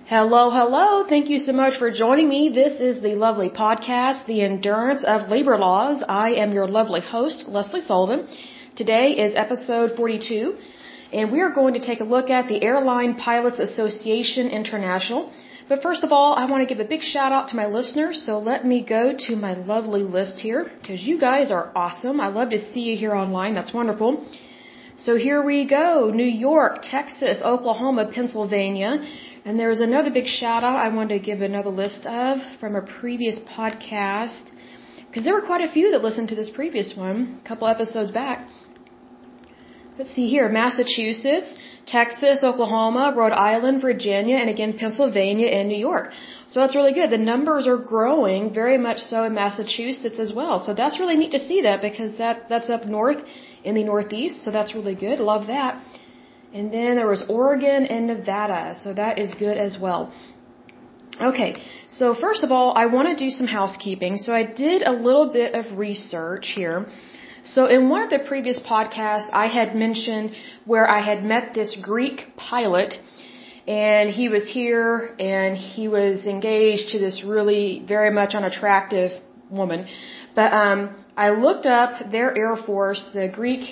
Hello, hello. Thank you so much for joining me. This is the lovely podcast, The Endurance of Labor Laws. I am your lovely host, Leslie Sullivan. Today is episode 42, and we are going to take a look at the Airline Pilots Association International. But first of all, I want to give a big shout out to my listeners, so let me go to my lovely list here, because you guys are awesome. I love to see you here online. That's wonderful. So here we go. New York, Texas, Oklahoma, Pennsylvania. And there's another big shout out I wanted to give another list of from a previous podcast, because there were quite a few that listened to this previous one a couple episodes back. Let's see here. Massachusetts, Texas, Oklahoma, Rhode Island, Virginia, and again Pennsylvania and New York. So that's really good. The numbers are growing very much so in Massachusetts as well. So that's really neat to see that, because that's up north in the Northeast. So that's really good. Love that. And then there was Oregon and Nevada, so that is good as well. Okay, so first of all, I want to do some housekeeping. So I did a little bit of research here. So in one of the previous podcasts, I had mentioned where I had met this Greek pilot, and he was here, and he was engaged to this really very much unattractive woman. But I looked up their Air Force, the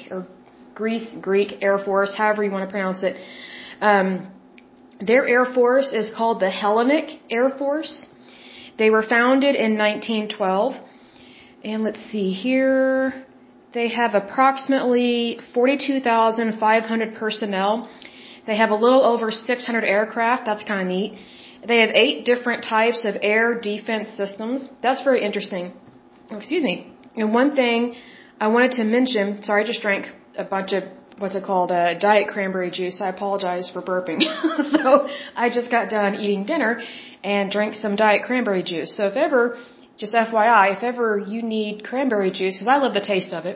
Greek Air Force, however you want to pronounce it. Their Air Force is called the Hellenic Air Force. They were founded in 1912. And let's see here. They have approximately 42,500 personnel. They have a little over 600 aircraft. That's kind of neat. They have 8 different types of air defense systems. That's very interesting. Oh, excuse me. And one thing I wanted to mention, sorry, I just drank a bunch of, diet cranberry juice. I apologize for burping. So I just got done eating dinner and drank some diet cranberry juice. So if ever, just FYI, if ever you need cranberry juice, because I love the taste of it,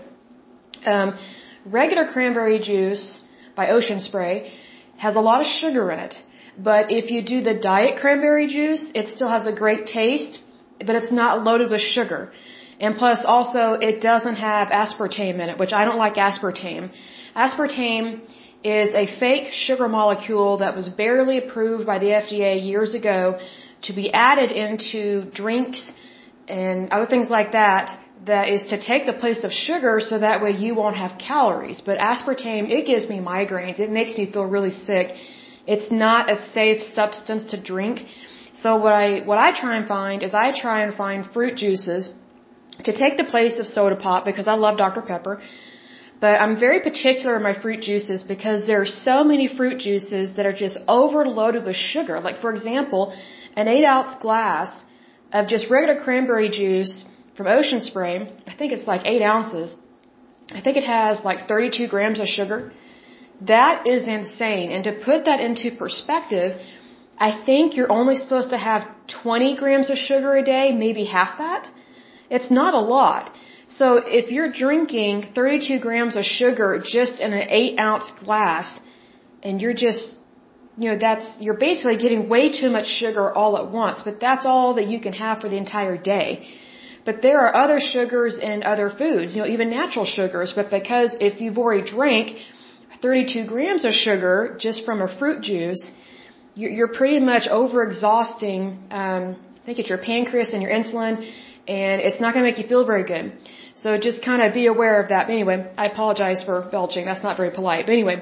regular cranberry juice by Ocean Spray has a lot of sugar in it. But if you do the diet cranberry juice, it still has a great taste, but it's not loaded with sugar. And plus, also, it doesn't have aspartame in it, which I don't like aspartame. Aspartame is a fake sugar molecule that was barely approved by the FDA years ago to be added into drinks and other things like that, that is to take the place of sugar so that way you won't have calories. But aspartame, it gives me migraines. It makes me feel really sick. It's not a safe substance to drink. So what I try and find is I try and find fruit juices to take the place of soda pop, because I love Dr. Pepper. But I'm very particular in my fruit juices because there are so many fruit juices that are just overloaded with sugar. Like, for example, an 8-ounce glass of just regular cranberry juice from Ocean Spray, I think it's like 8 ounces. I think it has like 32 grams of sugar. That is insane. And to put that into perspective, I think you're only supposed to have 20 grams of sugar a day, maybe half that. It's not a lot. So if you're drinking 32 grams of sugar just in an 8-ounce glass, and you're just, you're basically getting way too much sugar all at once, but that's all that you can have for the entire day. But there are other sugars in other foods, even natural sugars, but because if you've already drank 32 grams of sugar just from a fruit juice, you're pretty much over-exhausting, I think it's your pancreas and your insulin, and it's not going to make you feel very good. So just kind of be aware of that. But anyway, I apologize for belching. That's not very polite. But anyway,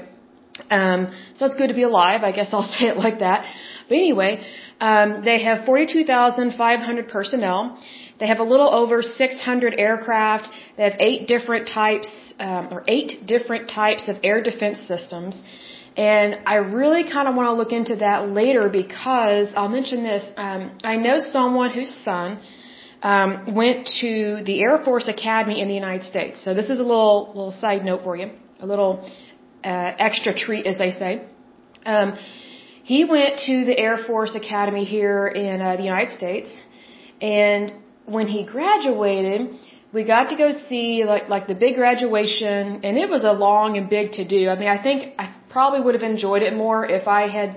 so it's good to be alive. I guess I'll say it like that. But anyway, they have 42,500 personnel. They have a little over 600 aircraft. They have 8 different types of air defense systems. And I really kind of want to look into that later, because I'll mention this. I know someone whose son went to the Air Force Academy in the United States. So this is a little side note for you, a little extra treat, as they say. He went to the Air Force Academy here in the United States, and when he graduated, we got to go see like the big graduation, and it was a long and big to do. I mean, I think I probably would have enjoyed it more if I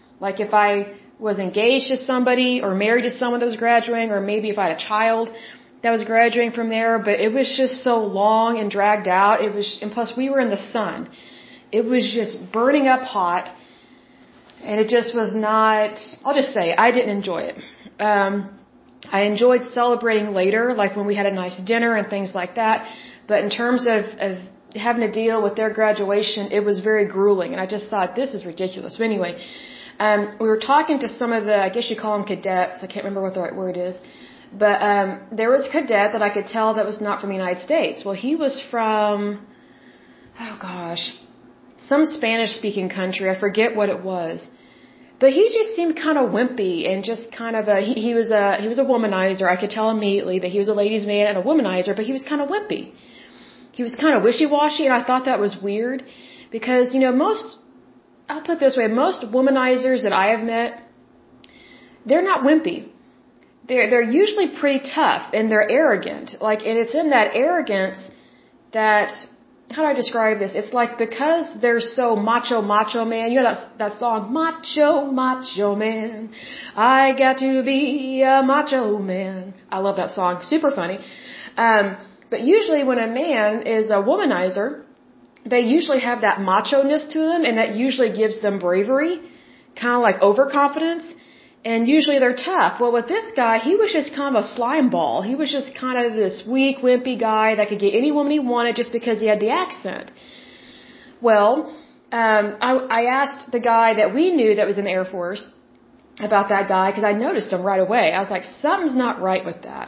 was engaged to somebody or married to someone that was graduating, or maybe if I had a child that was graduating from there, but it was just so long and dragged out. And plus we were in the sun. It was just burning up hot. And it just was not, I'll just say, I didn't enjoy it. I enjoyed celebrating later, like when we had a nice dinner and things like that. But in terms of having to deal with their graduation, it was very grueling. And I just thought, this is ridiculous. But anyway, we were talking to some of the, I guess you call them cadets. I can't remember what the right word is. But there was a cadet that I could tell that was not from the United States. Well, he was from, oh gosh, some Spanish-speaking country. I forget what it was. But he just seemed kind of wimpy and just kind of he was a womanizer. I could tell immediately that he was a ladies' man and a womanizer, but he was kind of wimpy. He was kind of wishy-washy, and I thought that was weird because, I'll put it this way, most womanizers that I have met, they're not wimpy. They're usually pretty tough and they're arrogant. And it's in that arrogance that, how do I describe this? It's like because they're so macho man. You know that song, macho man. I got to be a macho man. I love that song. Super funny. But usually when a man is a womanizer, they usually have that macho-ness to them, and that usually gives them bravery, kind of like overconfidence, and usually they're tough. Well, with this guy, he was just kind of a slime ball. He was just kind of this weak, wimpy guy that could get any woman he wanted just because he had the accent. Well, I asked the guy that we knew that was in the Air Force about that guy because I noticed him right away. I was like, something's not right with that.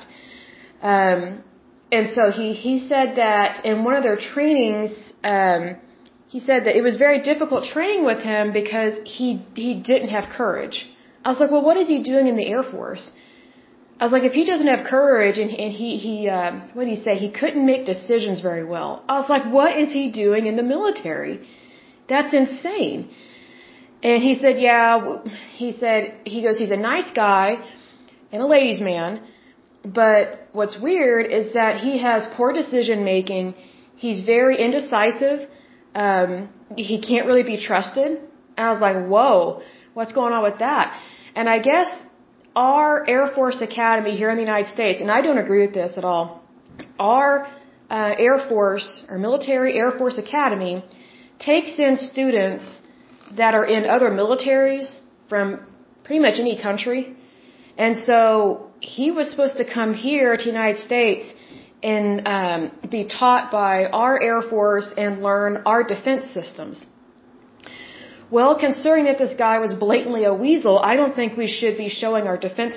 And so he said that in one of their trainings, he said that it was very difficult training with him because he didn't have courage. I was like, well, what is he doing in the Air Force? I was like, if he doesn't have courage and he what did he say? He couldn't make decisions very well. I was like, what is he doing in the military? That's insane. And he said, he goes, he's a nice guy and a ladies' man, but what's weird is that he has poor decision making. He's very indecisive. He can't really be trusted. And I was like, whoa, what's going on with that? And I guess our Air Force Academy here in the United States, and I don't agree with this at all, our Air Force, or Military Air Force Academy, takes in students that are in other militaries from pretty much any country. And so he was supposed to come here to the United States and be taught by our Air Force and learn our defense systems. Well, considering that this guy was blatantly a weasel, I don't think we should be showing our defense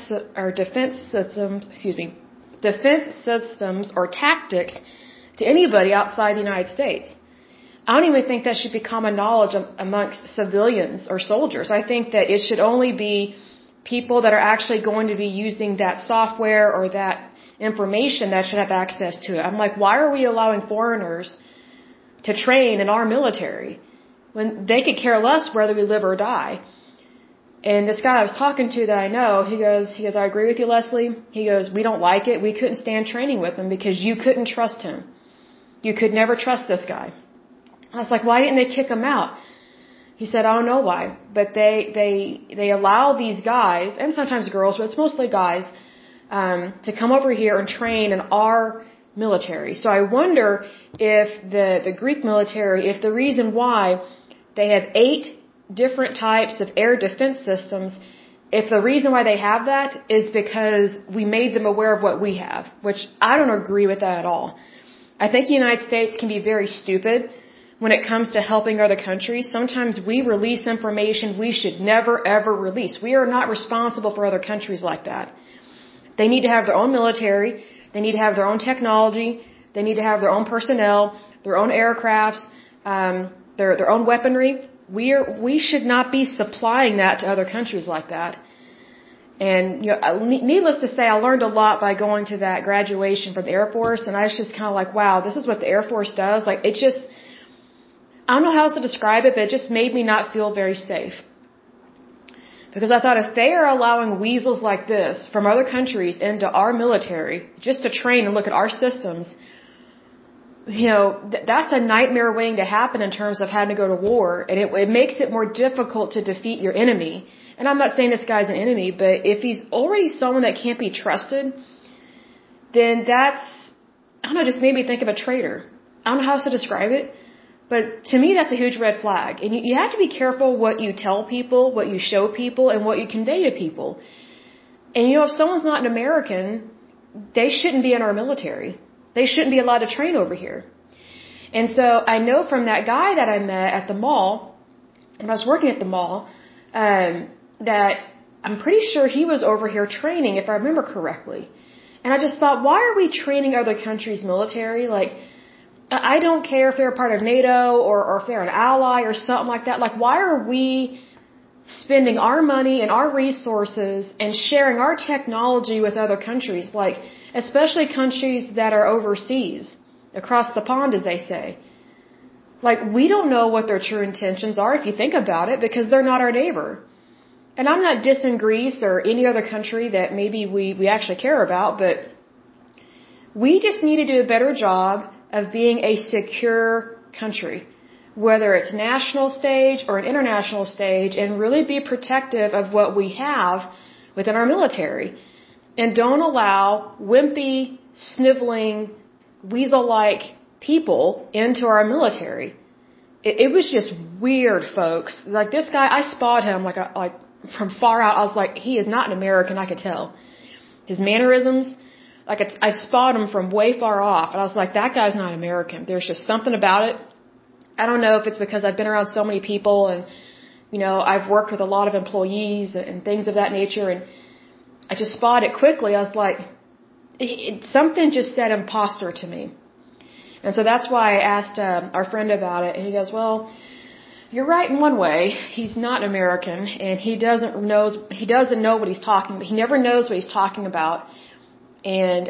systems or tactics to anybody outside the United States. I don't even think that should be common knowledge amongst civilians or soldiers. I think that it should only be people that are actually going to be using that software or that information that should have access to it. I'm like, why are we allowing foreigners to train in our military when they could care less whether we live or die? And this guy I was talking to that I know, he goes, I agree with you, Leslie. He goes, we don't like it. We couldn't stand training with him because you couldn't trust him. You could never trust this guy. I was like, why didn't they kick him out? He said, I don't know why, but they allow these guys, and sometimes girls, but it's mostly guys, to come over here and train in our military. So I wonder if the Greek military, if the reason why they have 8 different types of air defense systems, if the reason why they have that is because we made them aware of what we have, which I don't agree with that at all. I think the United States can be very stupid when it comes to helping other countries. Sometimes we release information we should never ever release. We are not responsible for other countries like that. They need to have their own military. They need to have their own technology. They need to have their own personnel, their own aircrafts, their own weaponry. We should not be supplying that to other countries like that. And needless to say, I learned a lot by going to that graduation from the Air Force, and I was just kind of like, wow, this is what the Air Force does. Like, it just, I don't know how else to describe it, but it just made me not feel very safe. Because I thought if they are allowing weasels like this from other countries into our military just to train and look at our systems, that's a nightmare waiting to happen in terms of having to go to war, and it makes it more difficult to defeat your enemy. And I'm not saying this guy's an enemy, but if he's already someone that can't be trusted, then that's, I don't know, just made me think of a traitor. I don't know how else to describe it. But to me, that's a huge red flag. And you have to be careful what you tell people, what you show people, and what you convey to people. And if someone's not an American, they shouldn't be in our military. They shouldn't be allowed to train over here. And so I know from that guy that I met at the mall, when I was working at the mall, that I'm pretty sure he was over here training, if I remember correctly. And I just thought, why are we training other countries' military? Like, I don't care if they're a part of NATO or if they're an ally or something like that. Like, why are we spending our money and our resources and sharing our technology with other countries? Like, especially countries that are overseas, across the pond, as they say. Like, we don't know what their true intentions are, if you think about it, because they're not our neighbor. And I'm not dissing Greece or any other country that maybe we actually care about, but we just need to do a better job of being a secure country, whether it's national stage or an international stage, and really be protective of what we have within our military. And don't allow wimpy, sniveling, weasel-like people into our military. It was just weird, folks. Like, this guy, I spotted him like from far out. I was like, he is not an American, I could tell. His mannerisms, like, I spotted him from way far off, and I was like, that guy's not American. There's just something about it. I don't know if it's because I've been around so many people, and, I've worked with a lot of employees and things of that nature, and I just spotted it quickly. I was like, something just said imposter to me. And so that's why I asked our friend about it, and he goes, well, you're right in one way. He's not American, and he doesn't know what he's talking about. He never knows what he's talking about. And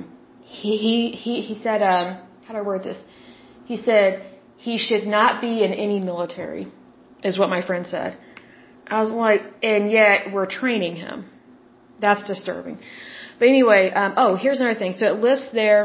he said, how do I word this? He said he should not be in any military, is what my friend said. I was like, and yet we're training him. That's disturbing. But anyway, here's another thing. So it lists there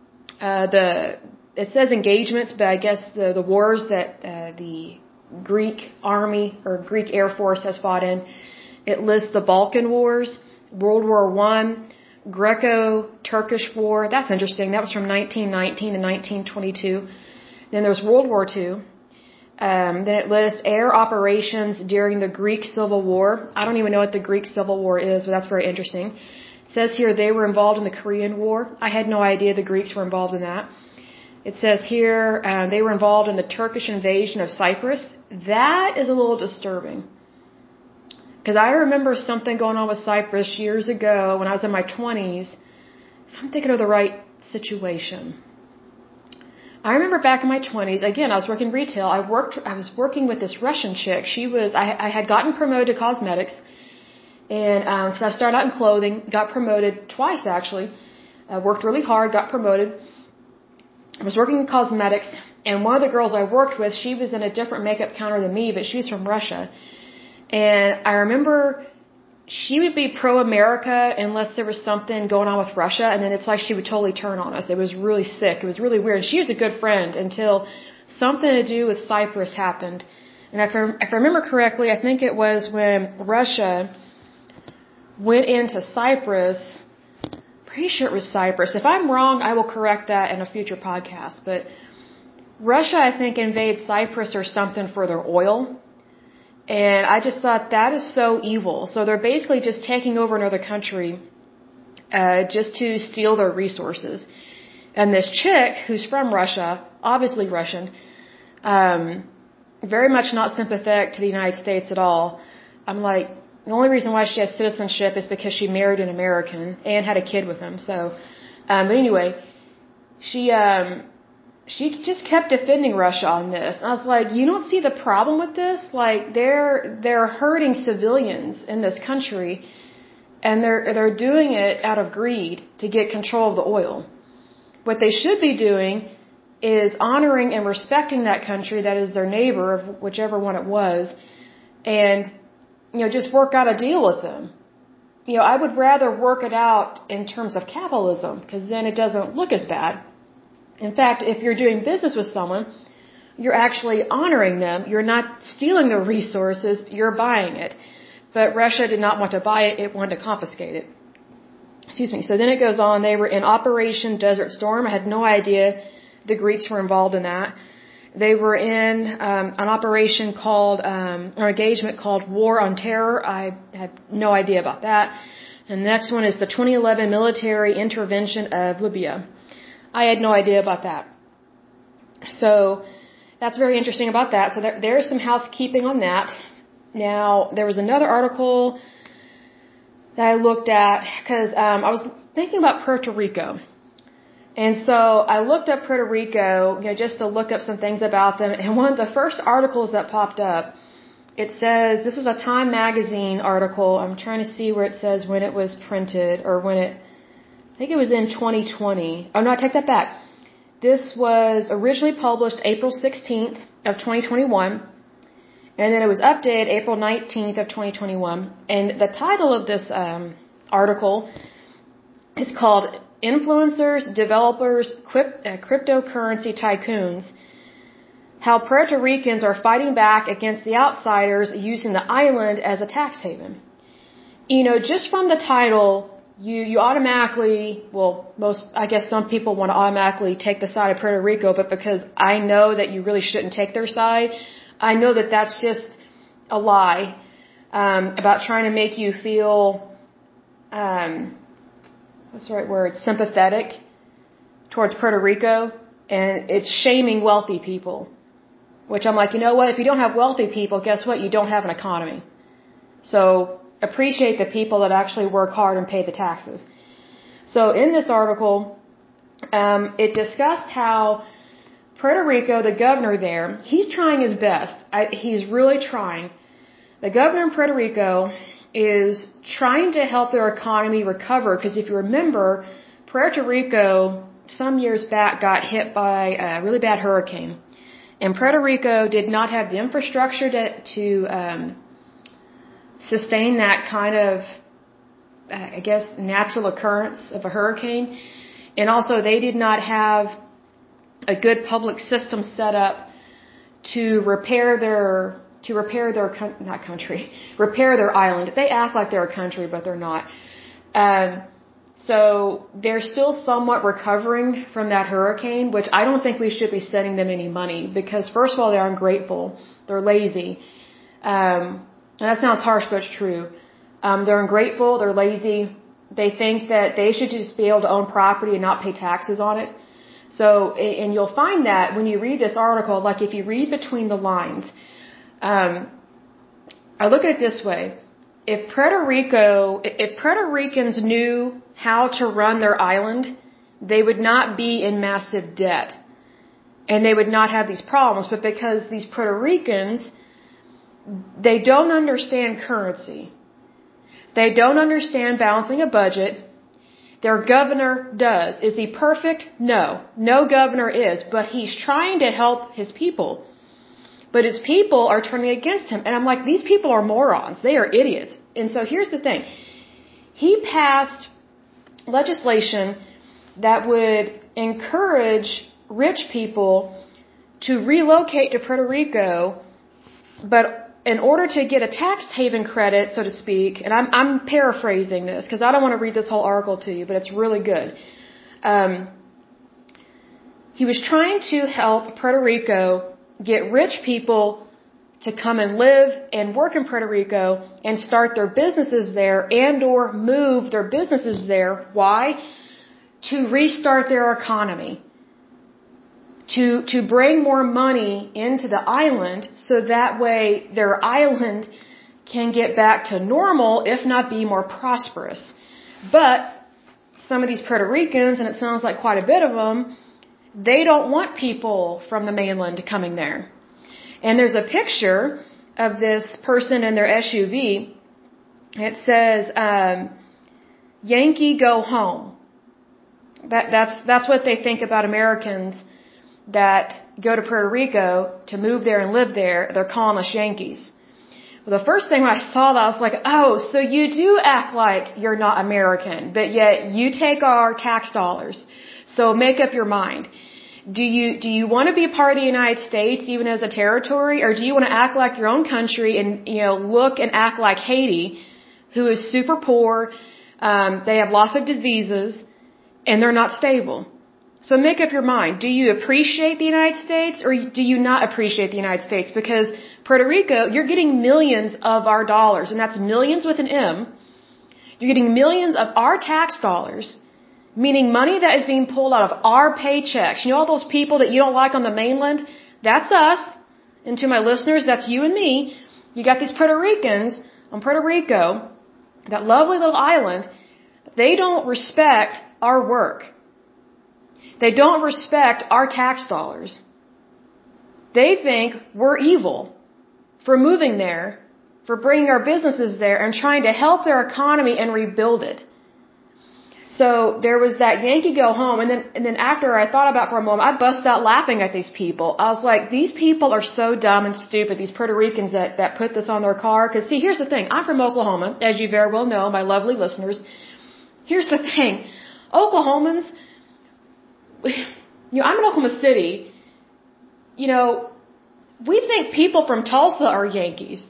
it says engagements, but I guess the wars that the Greek army or Greek Air Force has fought in. It lists the Balkan Wars, World War I, Greco-Turkish War. That's interesting. That was from 1919 to 1922. Then there's World War II. Then it lists air operations during the Greek Civil War. I don't even know what the Greek Civil War is, but that's very interesting. It says here they were involved in the Korean War. I had no idea the Greeks were involved in that. It says here they were involved in the Turkish invasion of Cyprus. That is a little disturbing. Because I remember something going on with Cyprus years ago when I was in my 20s. If I'm thinking of the right situation. I remember back in my 20s, again, I was working retail. I was working with this Russian chick. I had gotten promoted to cosmetics. And because I started out in clothing, got promoted twice actually. Worked really hard, got promoted. I was working in cosmetics, and one of the girls I worked with, she was in a different makeup counter than me, but she's from Russia. And I remember she would be pro-America unless there was something going on with Russia, and then it's like she would totally turn on us. It was really sick. It was really weird. She was a good friend until something to do with Cyprus happened. And if I remember correctly, I think it was when Russia went into Cyprus. Pretty sure it was Cyprus. If I'm wrong, I will correct that in a future podcast. But Russia, I think, invaded Cyprus or something for their oil. And I just thought that is so evil. So they're basically just taking over another country just to steal their resources. And this chick, who's from Russia, obviously Russian, very much not sympathetic to the United States at all. I'm like, the only reason why she has citizenship is because she married an American and had a kid with him. So, but anyway, she just kept defending Russia on this. And I was like, you don't see the problem with this? Like, they're hurting civilians in this country, and they're doing it out of greed to get control of the oil. What they should be doing is honoring and respecting that country that is their neighbor, of whichever one it was, and just work out a deal with them. I would rather work it out in terms of capitalism, because then it doesn't look as bad. In fact, if you're doing business with someone, you're actually honoring them. You're not stealing their resources, you're buying it. But Russia did not want to buy it, it wanted to confiscate it. Excuse me. So then it goes on, they were in Operation Desert Storm. I had no idea the Greeks were involved in that. They were in an operation called, or engagement called War on Terror. I had no idea about that. And the next one is the 2011 military intervention of Libya. I had no idea about that. So that's very interesting about that. So there's some housekeeping on that. Now, there was another article that I looked at because I was thinking about Puerto Rico. And so I looked up Puerto Rico, just to look up some things about them. And one of the first articles that popped up, it says, this is a Time magazine article. I'm trying to see where it says when it was printed or I think it was in 2020. Oh no, I take that back. This was originally published April 16th of 2021. And then it was updated April 19th of 2021. And the title of this article is called Influencers, Developers, Cryptocurrency Tycoons, How Puerto Ricans Are Fighting Back Against the Outsiders Using the Island as a Tax Haven. Just from the title, you automatically, I guess some people want to automatically take the side of Puerto Rico, but because I know that you really shouldn't take their side, I know that that's just a lie about trying to make you feel, what's the right word, sympathetic towards Puerto Rico, and it's shaming wealthy people, which I'm like, you know what, if you don't have wealthy people, guess what, you don't have an economy. So appreciate the people that actually work hard and pay the taxes. So in this article, it discussed how Puerto Rico, the governor there, he's trying his best. He's really trying. The governor in Puerto Rico is trying to help their economy recover because if you remember, Puerto Rico some years back got hit by a really bad hurricane. And Puerto Rico did not have the infrastructure to sustain that kind of, I guess, natural occurrence of a hurricane. And also they did not have a good public system set up to repair their island. They act like they're a country, but they're not. So they're still somewhat recovering from that hurricane, which I don't think we should be sending them any money because first of all, they're ungrateful. They're lazy. And that sounds harsh, but it's true. They're ungrateful. They're lazy. They think that they should just be able to own property and not pay taxes on it. So, and you'll find that when you read this article, like if you read between the lines, I look at it this way. If Puerto Ricans knew how to run their island, they would not be in massive debt. And they would not have these problems. But because these Puerto Ricans, they don't understand currency. They don't understand balancing a budget. Their governor does. Is he perfect? No. No governor is. But he's trying to help his people. But his people are turning against him. And I'm like, these people are morons. They are idiots. And so here's the thing. He passed legislation that would encourage rich people to relocate to Puerto Rico, but in order to get a tax haven credit, so to speak, and I'm paraphrasing this because I don't want to read this whole article to you, but it's really good. He was trying to help Puerto Rico get rich people to come and live and work in Puerto Rico and start their businesses there and or move their businesses there. Why? To restart their economy. To bring more money into the island so that way their island can get back to normal, if not be more prosperous. But some of these Puerto Ricans, and it sounds like quite a bit of them, they don't want people from the mainland coming there. And there's a picture of this person in their SUV. It says, Yankee go home. That's what they think about Americans that go to Puerto Rico to move there and live there. They're calling us Yankees. Well, the first thing when I saw that, I was like, oh, so you do act like you're not American, but yet you take our tax dollars. So make up your mind. Do you want to be a part of the United States even as a territory, or do you want to act like your own country and, look and act like Haiti, who is super poor, they have lots of diseases, and they're not stable. So make up your mind. Do you appreciate the United States or do you not appreciate the United States? Because Puerto Rico, you're getting millions of our dollars, and that's millions with an M. You're getting millions of our tax dollars, meaning money that is being pulled out of our paychecks. You know all those people that you don't like on the mainland? That's us. And to my listeners, that's you and me. You got these Puerto Ricans on Puerto Rico, that lovely little island. They don't respect our work. They don't respect our tax dollars. They think we're evil for moving there, for bringing our businesses there and trying to help their economy and rebuild it. So there was that Yankee go home, and then after I thought about it for a moment, I busted out laughing at these people. I was like, these people are so dumb and stupid, these Puerto Ricans that put this on their car. Because see, here's the thing. I'm from Oklahoma, as you very well know, my lovely listeners. Here's the thing. Oklahomans, I'm in Oklahoma City. We think people from Tulsa are Yankees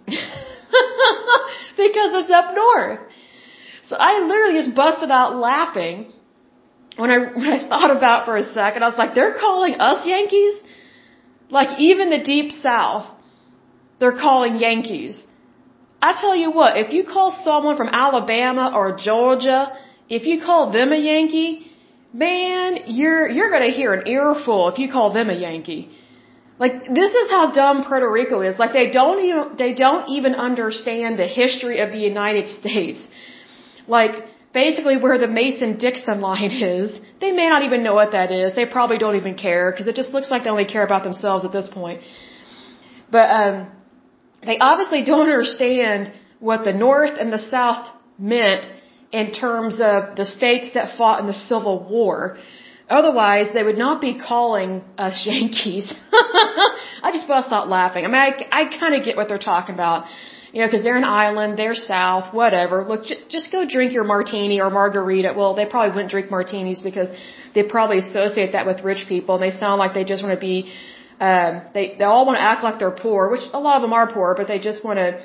because it's up north. So I literally just busted out laughing when I thought about it for a second. I was like, they're calling us Yankees? Like even the Deep South, they're calling Yankees. I tell you what, if you call someone from Alabama or Georgia, if you call them a Yankee, man, you're gonna hear an earful if you call them a Yankee. Like, this is how dumb Puerto Rico is. Like, they don't even understand the history of the United States. Like, basically where the Mason-Dixon line is, they may not even know what that is. They probably don't even care, because it just looks like they only care about themselves at this point. But, they obviously don't understand what the North and the South meant in terms of the states that fought in the Civil War. Otherwise, they would not be calling us Yankees. I just bust out laughing. I mean, I kind of get what they're talking about. Because they're an island, they're South, whatever. Look, just go drink your martini or margarita. Well, they probably wouldn't drink martinis because they probably associate that with rich people, and they sound like they just want to be, they all want to act like they're poor, which a lot of them are poor, but they just want to,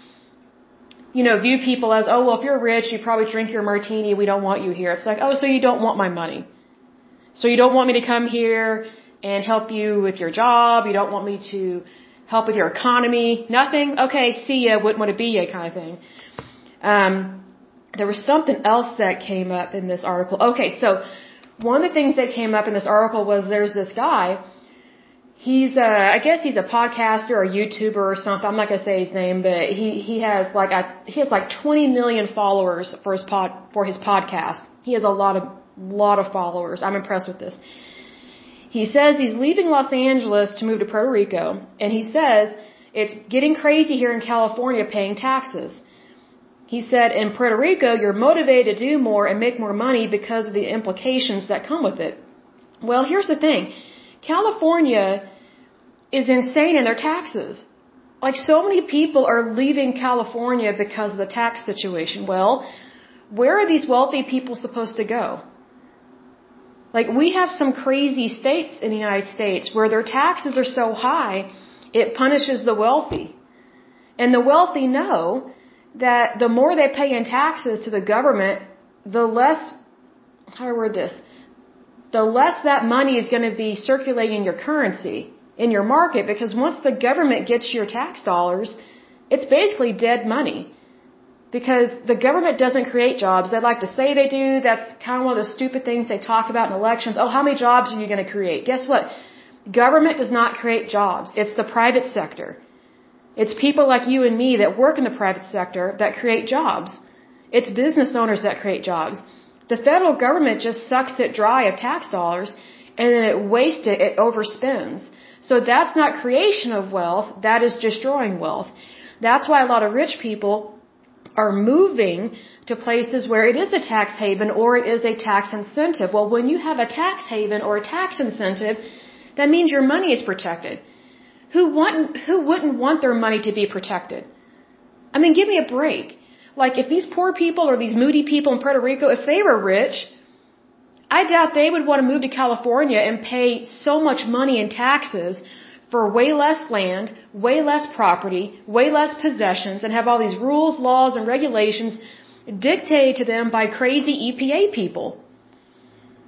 view people as, oh, well, if you're rich, you probably drink your martini, we don't want you here. It's like, oh, so you don't want my money. So you don't want me to come here and help you with your job, you don't want me to help with your economy, nothing? Okay, see ya, wouldn't want to be ya kind of thing. There was something else that came up in this article. Okay, so one of the things that came up in this article was there's this guy, I guess he's a podcaster or YouTuber or something, I'm not going to say his name, but he has like 20 million followers for his podcast. He has a lot of followers. I'm impressed with this. He says he's leaving Los Angeles to move to Puerto Rico, and he says it's getting crazy here in California paying taxes. He said in Puerto Rico, you're motivated to do more and make more money because of the implications that come with it. Well, here's the thing. California is insane in their taxes. Like, so many people are leaving California because of the tax situation. Well, where are these wealthy people supposed to go? Like, we have some crazy states in the United States where their taxes are so high, it punishes the wealthy. And the wealthy know that the more they pay in taxes to the government, the less, how do I word this? The less that money is going to be circulating in your currency, in your market, because once the government gets your tax dollars, it's basically dead money. Because the government doesn't create jobs. They like to say they do. That's kind of one of the stupid things they talk about in elections. Oh, how many jobs are you going to create? Guess what? Government does not create jobs. It's the private sector. It's people like you and me that work in the private sector that create jobs. It's business owners that create jobs. The federal government just sucks it dry of tax dollars, and then it wastes it, it overspends. So that's not creation of wealth. That is destroying wealth. That's why a lot of rich people are moving to places where it is a tax haven or it is a tax incentive. Well, when you have a tax haven or a tax incentive, that means your money is protected. Who wouldn't want their money to be protected? I mean, give me a break. Like, if these poor people or these moody people in Puerto Rico, if they were rich, I doubt they would want to move to California and pay so much money in taxes for way less land, way less property, way less possessions, and have all these rules, laws, and regulations dictated to them by crazy EPA people.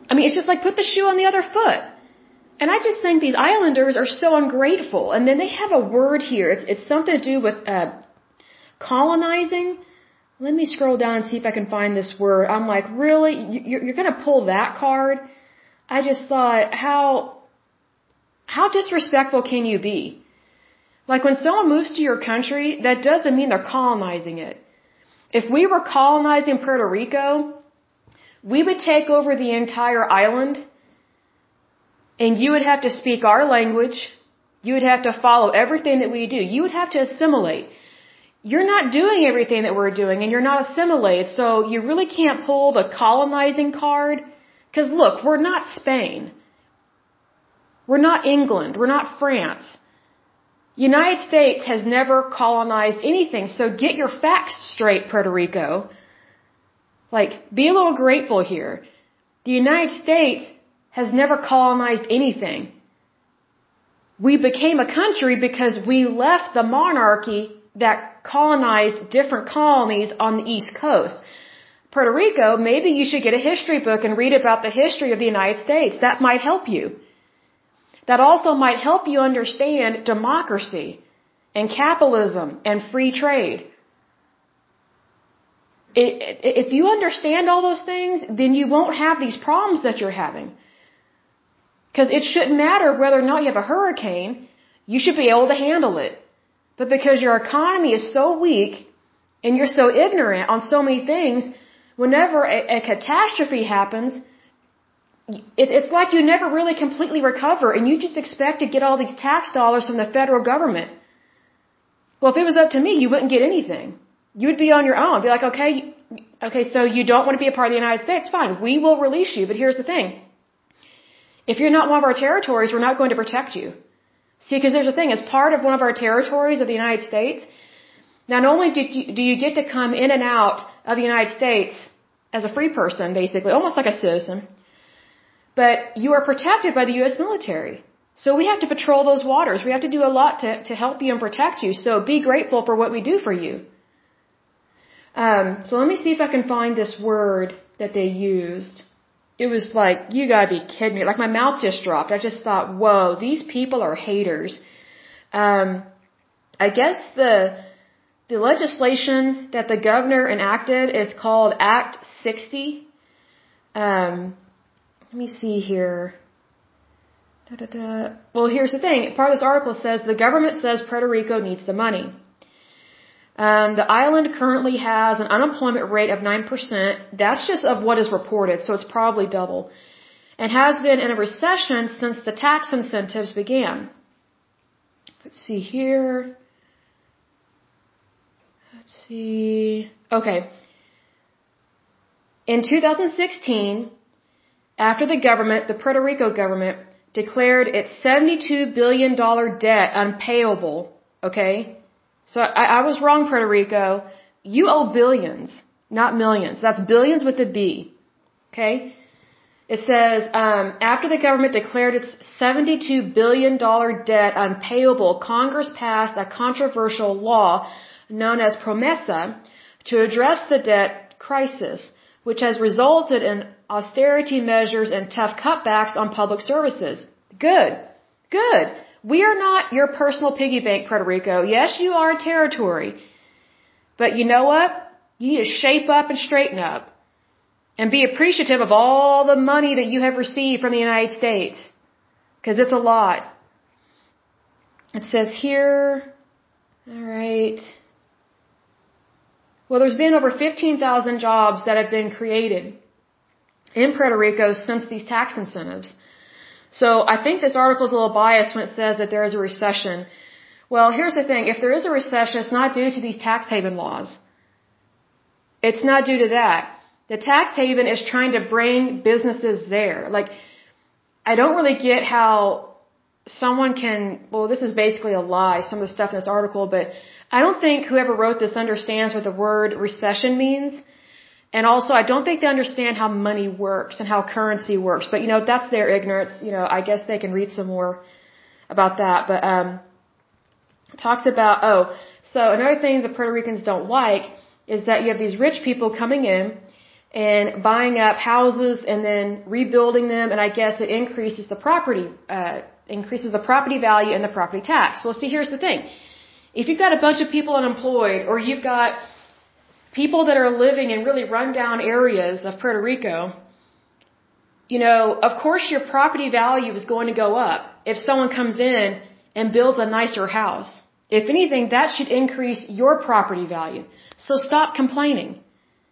I mean, it's just like put the shoe on the other foot. And I just think these islanders are so ungrateful. And then they have a word here. It's something to do with colonizing. Let me scroll down and see if I can find this word. I'm like, really? You're going to pull that card? I just thought, how disrespectful can you be? Like when someone moves to your country, that doesn't mean they're colonizing it. If we were colonizing Puerto Rico, we would take over the entire island, and you would have to speak our language. You would have to follow everything that we do. You would have to assimilate. You're not doing everything that we're doing, and you're not assimilated, so you really can't pull the colonizing card. Because look, we're not Spain. We're not England. We're not France. United States has never colonized anything, so get your facts straight, Puerto Rico. Like, be a little grateful here. The United States has never colonized anything. We became a country because we left the monarchy that colonized different colonies on the East Coast. Puerto Rico, maybe you should get a history book and read about the history of the United States. That might help you. That also might help you understand democracy and capitalism and free trade. If you understand all those things, then you won't have these problems that you're having. Because it shouldn't matter whether or not you have a hurricane, you should be able to handle it. But because your economy is so weak and you're so ignorant on so many things, whenever a catastrophe happens, it's like you never really completely recover and you just expect to get all these tax dollars from the federal government. Well, if it was up to me, you wouldn't get anything. You would be on your own. Be like, okay, so you don't want to be a part of the United States? Fine, we will release you. But here's the thing. If you're not one of our territories, we're not going to protect you. See, because there's a thing. As part of one of our territories of the United States, not only do you get to come in and out of the United States as a free person, basically, almost like a citizen, but you are protected by the U.S. military. So we have to patrol those waters. We have to do a lot to help you and protect you. So be grateful for what we do for you. So let me see if I can find this word that they used. It was like, you gotta be kidding me. Like my mouth just dropped. I just thought, whoa, these people are haters. I guess the legislation that the governor enacted is called Act 60. Let me see here. Well, here's the thing. Part of this article says the government says Puerto Rico needs the money. The island currently has an unemployment rate of 9%. That's just of what is reported, so it's probably double. And has been in a recession since the tax incentives began. Let's see here. Let's see. Okay. In 2016, after the Puerto Rico government declared its $72 billion debt unpayable, okay? So I was wrong, Puerto Rico. You owe billions, not millions. That's billions with a B. Okay? It says, after the government declared its $72 billion debt unpayable, Congress passed a controversial law known as PROMESA to address the debt crisis, which has resulted in austerity measures and tough cutbacks on public services. Good. Good. We are not your personal piggy bank, Puerto Rico. Yes, you are a territory. But you know what? You need to shape up and straighten up. And be appreciative of all the money that you have received from the United States. Because it's a lot. It says here, alright. Well, there's been over 15,000 jobs that have been created in Puerto Rico since these tax incentives. So I think this article is a little biased when it says that there is a recession. Well, here's the thing. If there is a recession, it's not due to these tax haven laws. It's not due to that. The tax haven is trying to bring businesses there. Like, I don't really get how someone can, well, this is basically a lie, some of the stuff in this article, but I don't think whoever wrote this understands what the word recession means. And also, I don't think they understand how money works and how currency works. But, that's their ignorance. I guess they can read some more about that. But, it talks about, so another thing the Puerto Ricans don't like is that you have these rich people coming in. and buying up houses and then rebuilding them, and I guess it increases the property value and the property tax. Well, see, here's the thing. If you've got a bunch of people unemployed, or you've got people that are living in really rundown areas of Puerto Rico, of course your property value is going to go up if someone comes in and builds a nicer house. If anything, that should increase your property value. So stop complaining.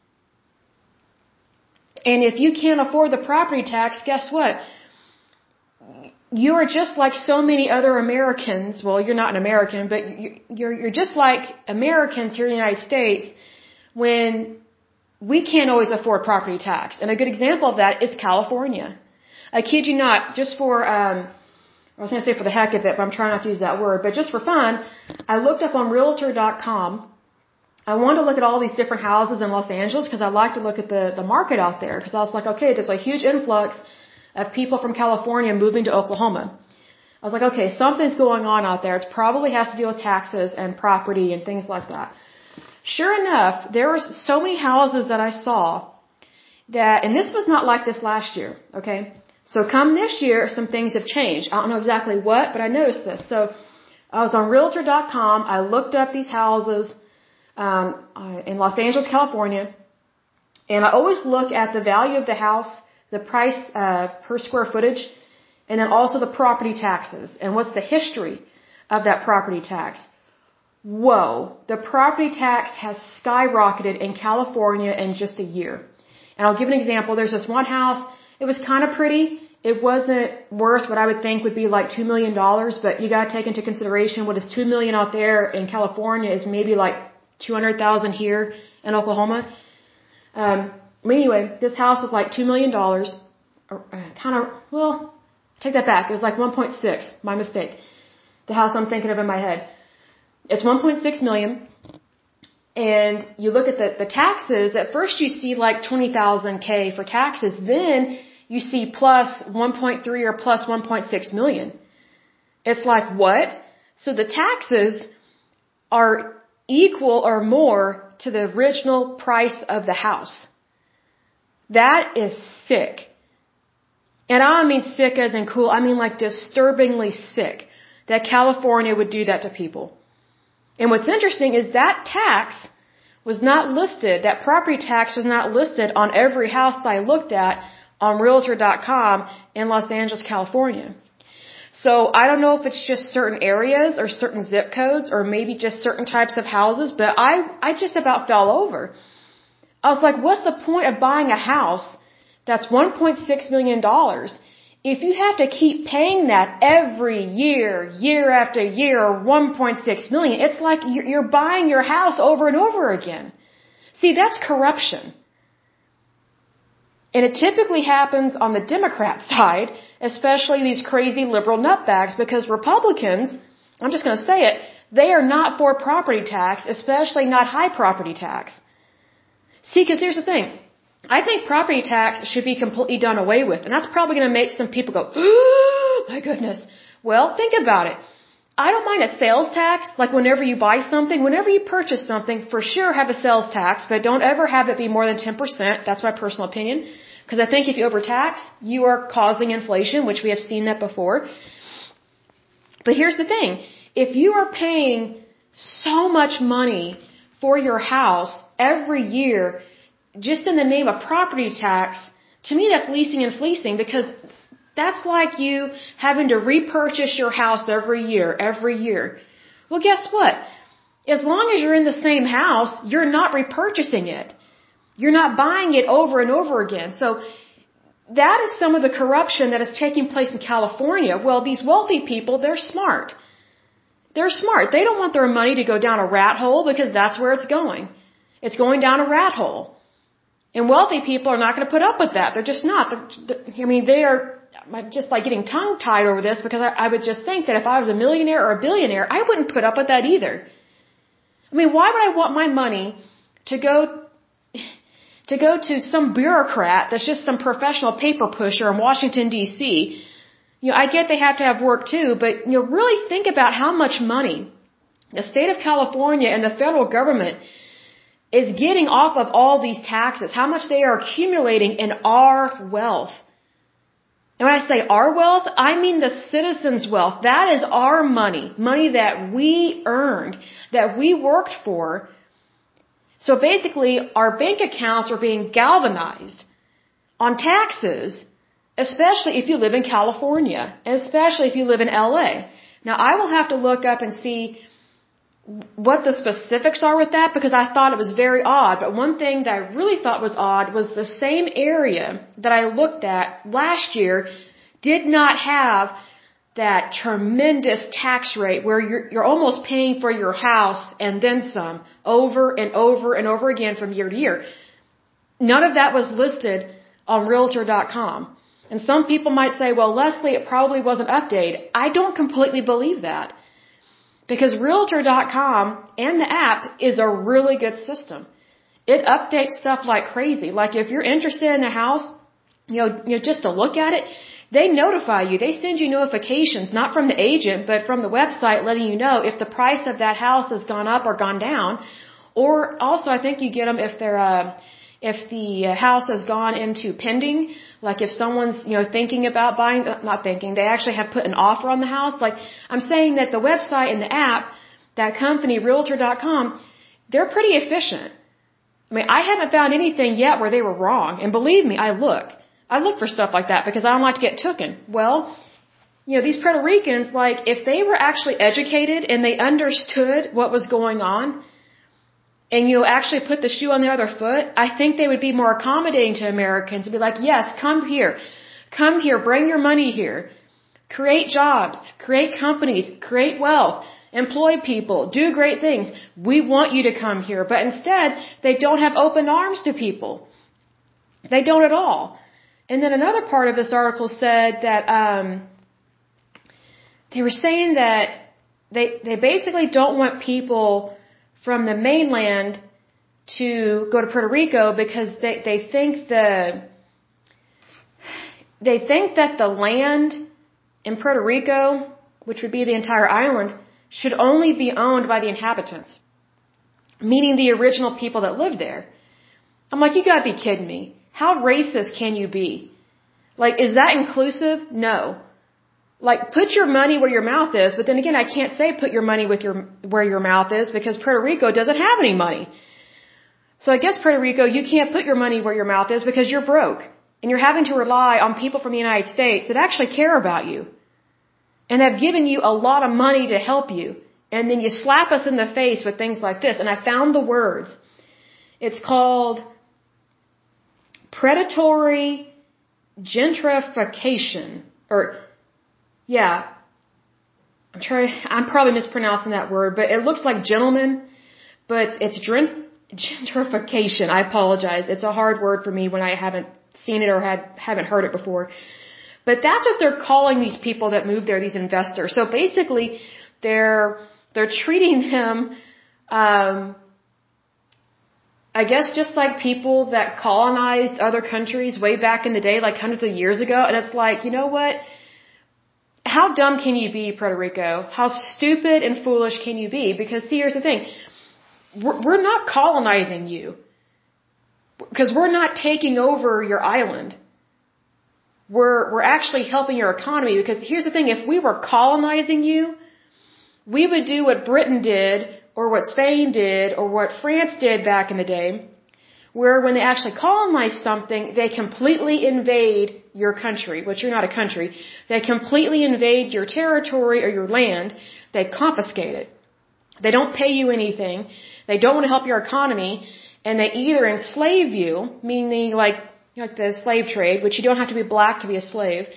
And if you can't afford the property tax, guess what? You are just like so many other Americans. Well, you're not an American, but you're just like Americans here in the United States when we can't always afford property tax. And a good example of that is California. I kid you not, just for, I was going to say for the heck of it, but I'm trying not to use that word, but just for fun, I looked up on Realtor.com. I wanted to look at all these different houses in Los Angeles because I like to look at the market out there, because I was like, okay, there's a huge influx of people from California moving to Oklahoma. I was like, okay, something's going on out there. It probably has to do with taxes and property and things like that. Sure enough, there were so many houses that I saw that, and this was not like this last year, okay? So come this year, some things have changed. I don't know exactly what, but I noticed this. So I was on Realtor.com. I looked up these houses in Los Angeles, California, and I always look at the value of the house, the price per square footage, and then also the property taxes, and what's the history of that property tax. Whoa, the property tax has skyrocketed in California in just a year. And I'll give an example. There's this one house. It was kind of pretty. It wasn't worth what I would think would be like $2 million, but you got to take into consideration what is $2 million out there in California is maybe like $200,000 here in Oklahoma. Anyway, this house was like $2 million. Take that back. It was like 1.6. My mistake. The house I'm thinking of in my head. It's 1.6 million. And you look at the taxes. At first you see like 20,000 K for taxes. Then you see plus 1.3 or plus 1.6 million. It's like, what? So the taxes are equal or more to the original price of the house. That is sick. And I don't mean sick as in cool. I mean like disturbingly sick that California would do that to people. And what's interesting is that tax was not listed, that property tax was not listed on every house that I looked at on Realtor.com in Los Angeles, California. So I don't know if it's just certain areas or certain zip codes or maybe just certain types of houses, but I just about fell over. I was like, what's the point of buying a house that's $1.6 million if you have to keep paying that every year, year after year, 1.6 million? It's like you're buying your house over and over again. See, that's corruption. And it typically happens on the Democrat side, especially these crazy liberal nutbags, because Republicans, I'm just going to say it, they are not for property tax, especially not high property tax. See, because here's the thing. I think property tax should be completely done away with, and that's probably going to make some people go, oh, my goodness. Well, think about it. I don't mind a sales tax, like whenever you buy something, whenever you purchase something, for sure have a sales tax, but don't ever have it be more than 10%. That's my personal opinion. Because I think if you overtax, you are causing inflation, which we have seen that before. But here's the thing. If you are paying so much money for your house every year, just in the name of property tax, to me that's leasing and fleecing, because that's like you having to repurchase your house every year. Well, guess what? As long as you're in the same house, you're not repurchasing it. You're not buying it over and over again. So that is some of the corruption that is taking place in California. Well, these wealthy people, they're smart. They're smart. They don't want their money to go down a rat hole, because that's where it's going. It's going down a rat hole. And wealthy people are not going to put up with that. They're just not. They are just like getting tongue-tied over this, because I would just think that if I was a millionaire or a billionaire, I wouldn't put up with that either. Why would I want my money to go to some bureaucrat that's just some professional paper pusher in Washington, D.C.? I get they have to have work too, but really think about how much money the state of California and the federal government is getting off of all these taxes, how much they are accumulating in our wealth. And when I say our wealth, I mean the citizens' wealth. That is our money, money that we earned, that we worked for. So basically, our bank accounts are being galvanized on taxes, especially if you live in California, especially if you live in LA. Now, I will have to look up and see what the specifics are with that, because I thought it was very odd. But one thing that I really thought was odd was the same area that I looked at last year did not have that tremendous tax rate where you're almost paying for your house and then some over and over and over again from year to year. None of that was listed on Realtor.com. And some people might say, well, Leslie, it probably wasn't updated. I don't completely believe that. Because Realtor.com and the app is a really good system. It updates stuff like crazy. Like if you're interested in a house, just to look at it, they notify you. They send you notifications, not from the agent, but from the website, letting you know if the price of that house has gone up or gone down. Or also, I think you get them if the house has gone into pending. Like if someone's, thinking about buying, not thinking, they actually have put an offer on the house. Like I'm saying that the website and the app, that company, Realtor.com, they're pretty efficient. I mean, I haven't found anything yet where they were wrong. And believe me, I look for stuff like that because I don't like to get tooken. Well, these Puerto Ricans, like if they were actually educated and they understood what was going on, and you actually put the shoe on the other foot, I think they would be more accommodating to Americans and be like, yes, come here, bring your money here, create jobs, create companies, create wealth, employ people, do great things. We want you to come here. But instead, they don't have open arms to people. They don't at all. And then another part of this article said that they were saying that they basically don't want people from the mainland to go to Puerto Rico because they think that the land in Puerto Rico, which would be the entire island, should only be owned by the inhabitants, meaning the original people that lived there. I'm like, you gotta be kidding me. How racist can you be? Like, is that inclusive? No. Like, put your money where your mouth is, but then again, I can't say put your money where your mouth is because Puerto Rico doesn't have any money. So I guess Puerto Rico, you can't put your money where your mouth is because you're broke. And you're having to rely on people from the United States that actually care about you. And have given you a lot of money to help you. And then you slap us in the face with things like this. And I found the words. It's called predatory gentrification. I'm probably mispronouncing that word, but it looks like gentleman, but it's gentrification. I apologize. It's a hard word for me when I haven't seen it or haven't heard it before. But that's what they're calling these people that move there, these investors. So basically, they're treating them, I guess just like people that colonized other countries way back in the day, like hundreds of years ago. And it's like, you know what? How dumb can you be, Puerto Rico? How stupid and foolish can you be? Because see, here's the thing. We're not colonizing you. Because we're not taking over your island. We're actually helping your economy. Because here's the thing. If we were colonizing you, we would do what Britain did, or what Spain did, or what France did back in the day, where when they actually colonize something, they completely invade your country, which you're not a country. They completely invade your territory or your land. They confiscate it. They don't pay you anything. They don't want to help your economy. And they either enslave you, meaning like the slave trade, which you don't have to be black to be a slave.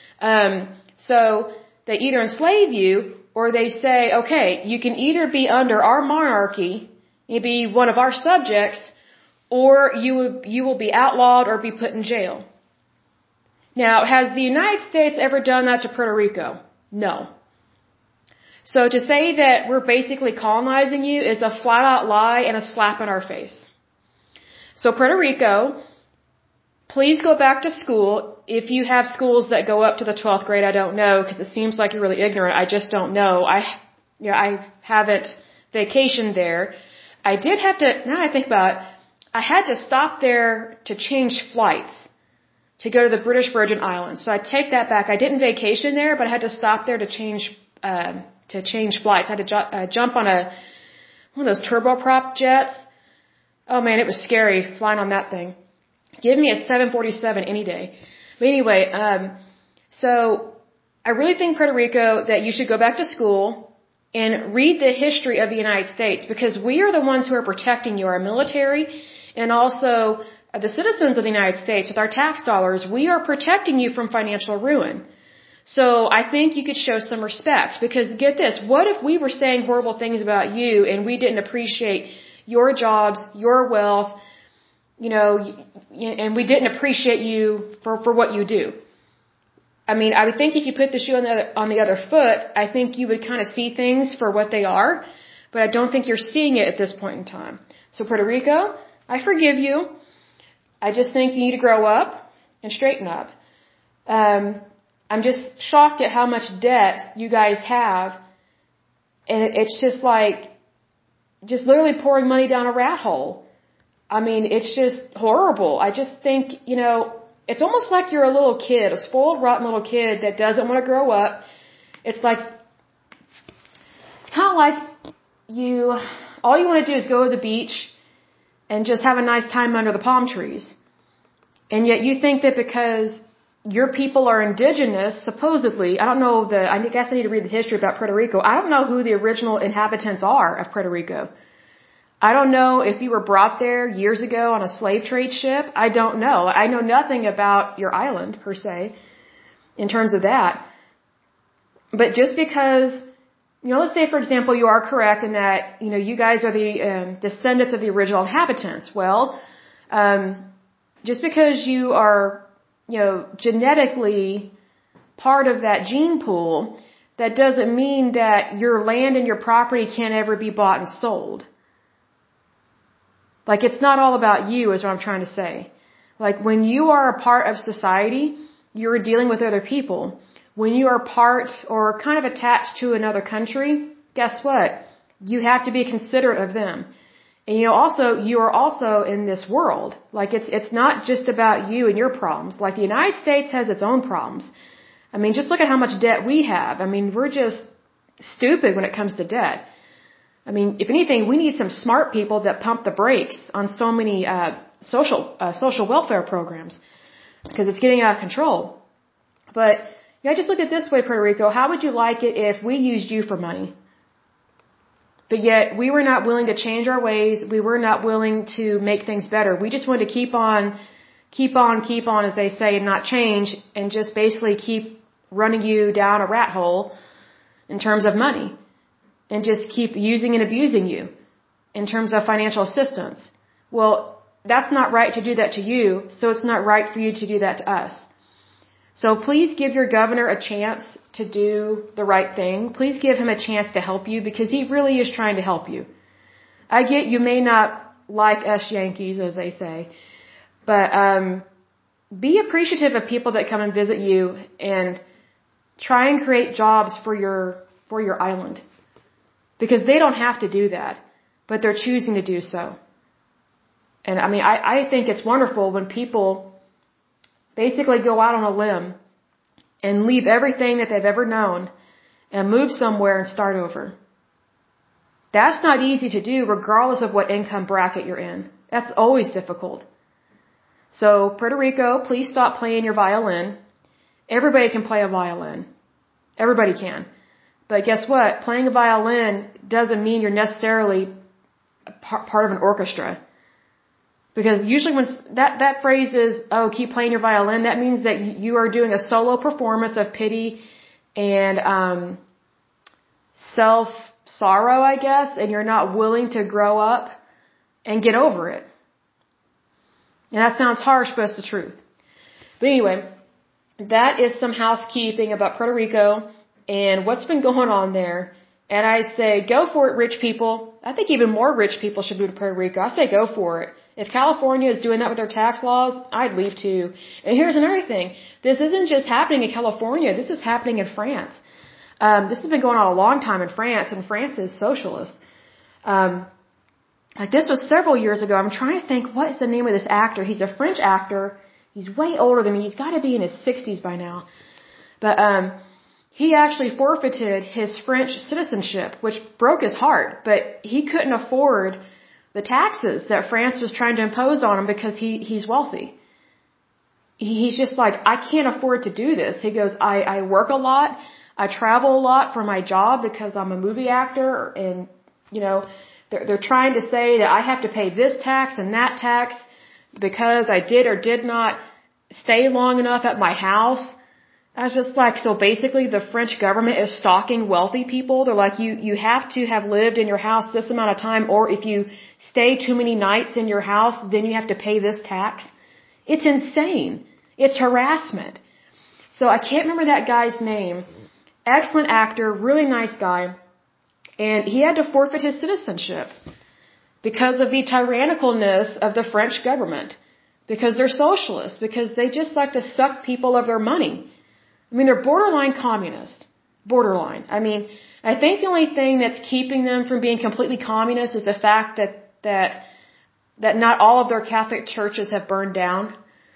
So they either enslave you, or they say, okay, you can either be under our monarchy, you be one of our subjects, or you will be outlawed or be put in jail. Now, has the United States ever done that to Puerto Rico? No. So to say that we're basically colonizing you is a flat-out lie and a slap in our face. So Puerto Rico, please go back to school. If you have schools that go up to the 12th grade, I don't know, because it seems like you're really ignorant. I just don't know. I haven't vacationed there. I did have to, now I think about it, I had to stop there to change flights to go to the British Virgin Islands. So I take that back. I didn't vacation there, but I had to stop there to change flights. I had to jump on one of those turboprop jets. Oh man, it was scary flying on that thing. Give me a 747 any day. But anyway, so I really think, Puerto Rico, that you should go back to school and read the history of the United States, because we are the ones who are protecting you, our military, and also the citizens of the United States with our tax dollars. We are protecting you from financial ruin. So I think you could show some respect, because get this, what if we were saying horrible things about you and we didn't appreciate your jobs, your wealth, and we didn't appreciate you for what you do? I mean, I would think if you put the shoe on the other foot, I think you would kind of see things for what they are, but I don't think you're seeing it at this point in time. So Puerto Rico, I forgive you. I just think you need to grow up and straighten up. I'm just shocked at how much debt you guys have, and it's just like, just literally pouring money down a rat hole. I mean, it's just horrible. I just think, it's almost like you're a little kid, a spoiled, rotten little kid that doesn't want to grow up. It's kind of like all you want to do is go to the beach and just have a nice time under the palm trees. And yet you think that because your people are indigenous, supposedly, I guess I need to read the history about Puerto Rico. I don't know who the original inhabitants are of Puerto Rico. I don't know if you were brought there years ago on a slave trade ship. I don't know. I know nothing about your island, per se, in terms of that. But just because, let's say, for example, you are correct in that, you guys are the descendants of the original inhabitants. Well, just because you are, genetically part of that gene pool, that doesn't mean that your land and your property can't ever be bought and sold. Like, it's not all about you, is what I'm trying to say. Like, when you are a part of society, you're dealing with other people. When you are part or kind of attached to another country, guess what? You have to be considerate of them. And you are also in this world. Like, it's not just about you and your problems. Like, the United States has its own problems. I mean, just look at how much debt we have. I mean, we're just stupid when it comes to debt. I mean, if anything, we need some smart people that pump the brakes on so many social welfare programs, because it's getting out of control. But just look at it this way, Puerto Rico. How would you like it if we used you for money? But yet we were not willing to change our ways. We were not willing to make things better. We just wanted to keep on, as they say, and not change, and just basically keep running you down a rat hole in terms of money. And just keep using and abusing you in terms of financial assistance. Well, that's not right to do that to you, so it's not right for you to do that to us. So please give your governor a chance to do the right thing. Please give him a chance to help you, because he really is trying to help you. I get you may not like us Yankees, as they say, but be appreciative of people that come and visit you, and try and create jobs for your island. Because they don't have to do that, but they're choosing to do so. And I mean, I think it's wonderful when people basically go out on a limb and leave everything that they've ever known and move somewhere and start over. That's not easy to do, regardless of what income bracket you're in. That's always difficult. So, Puerto Rico, please stop playing your violin. Everybody can play a violin. Everybody can. But guess what? Playing a violin doesn't mean you're necessarily part of an orchestra. Because usually when that phrase is, keep playing your violin, that means that you are doing a solo performance of pity and self-sorrow, I guess, and you're not willing to grow up and get over it. And that sounds harsh, but it's the truth. But anyway, that is some housekeeping about Puerto Rico and what's been going on there. And I say, go for it, rich people. I think even more rich people should move to Puerto Rico. I say go for it. If California is doing that with their tax laws, I'd leave too. And here's another thing. This isn't just happening in California. This is happening in France. This has been going on a long time in France, and France is socialist. like this was several years ago. I'm trying to think, what is the name of this actor? He's a French actor. He's way older than me. He's got to be in his 60s by now. But he actually forfeited his French citizenship, which broke his heart. But he couldn't afford the taxes that France was trying to impose on him because he's wealthy. He's just like, I can't afford to do this. He goes, I work a lot. I travel a lot for my job because I'm a movie actor. And, they're trying to say that I have to pay this tax and that tax because I did or did not stay long enough at my house. I was just like, so basically the French government is stalking wealthy people. They're like, you have to have lived in your house this amount of time, or if you stay too many nights in your house, then you have to pay this tax. It's insane. It's harassment. So I can't remember that guy's name. Excellent actor, really nice guy. And he had to forfeit his citizenship because of the tyrannicalness of the French government. Because they're socialists. Because they just like to suck people of their money. I mean, they're borderline communist. Borderline. I mean, I think the only thing that's keeping them from being completely communist is the fact that not all of their Catholic churches have burned down.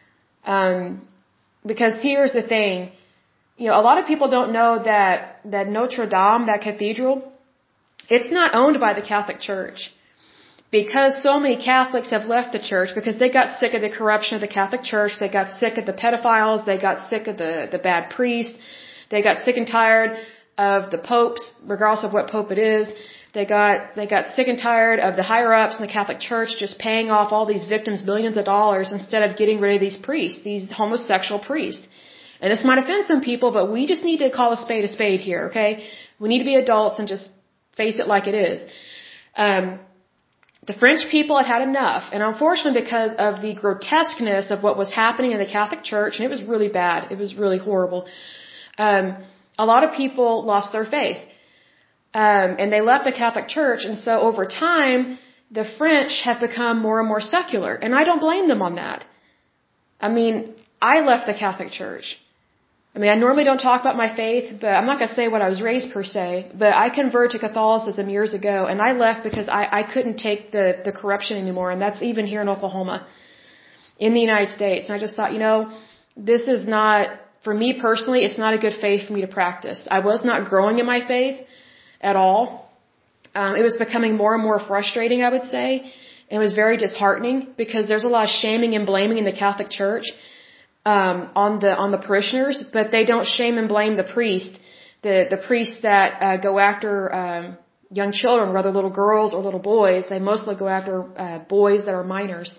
Because here's the thing. A lot of people don't know that Notre Dame, that cathedral, it's not owned by the Catholic Church. Because so many Catholics have left the church because they got sick of the corruption of the Catholic Church, they got sick of the pedophiles, they got sick of the bad priests, they got sick and tired of the popes, regardless of what pope it is. They got sick and tired of the higher ups in the Catholic Church just paying off all these victims millions of dollars instead of getting rid of these priests, these homosexual priests. And this might offend some people, but we just need to call a spade here, okay? We need to be adults and just face it like it is. The French people had enough, and unfortunately because of the grotesqueness of what was happening in the Catholic Church, and it was really bad, it was really horrible, a lot of people lost their faith. And they left the Catholic Church, and so over time, the French have become more and more secular, and I don't blame them on that. I mean, I left the Catholic Church. I mean, I normally don't talk about my faith, but I'm not going to say what I was raised per se, but I converted to Catholicism years ago, and I left because I couldn't take the corruption anymore, and that's even here in Oklahoma, in the United States. And I just thought, this is not, for me personally, it's not a good faith for me to practice. I was not growing in my faith at all. It was becoming more and more frustrating, I would say. It was very disheartening because there's a lot of shaming and blaming in the Catholic Church. On the parishioners, but they don't shame and blame the priest, the priests that go after young children, whether little girls or little boys. They mostly go after boys that are minors.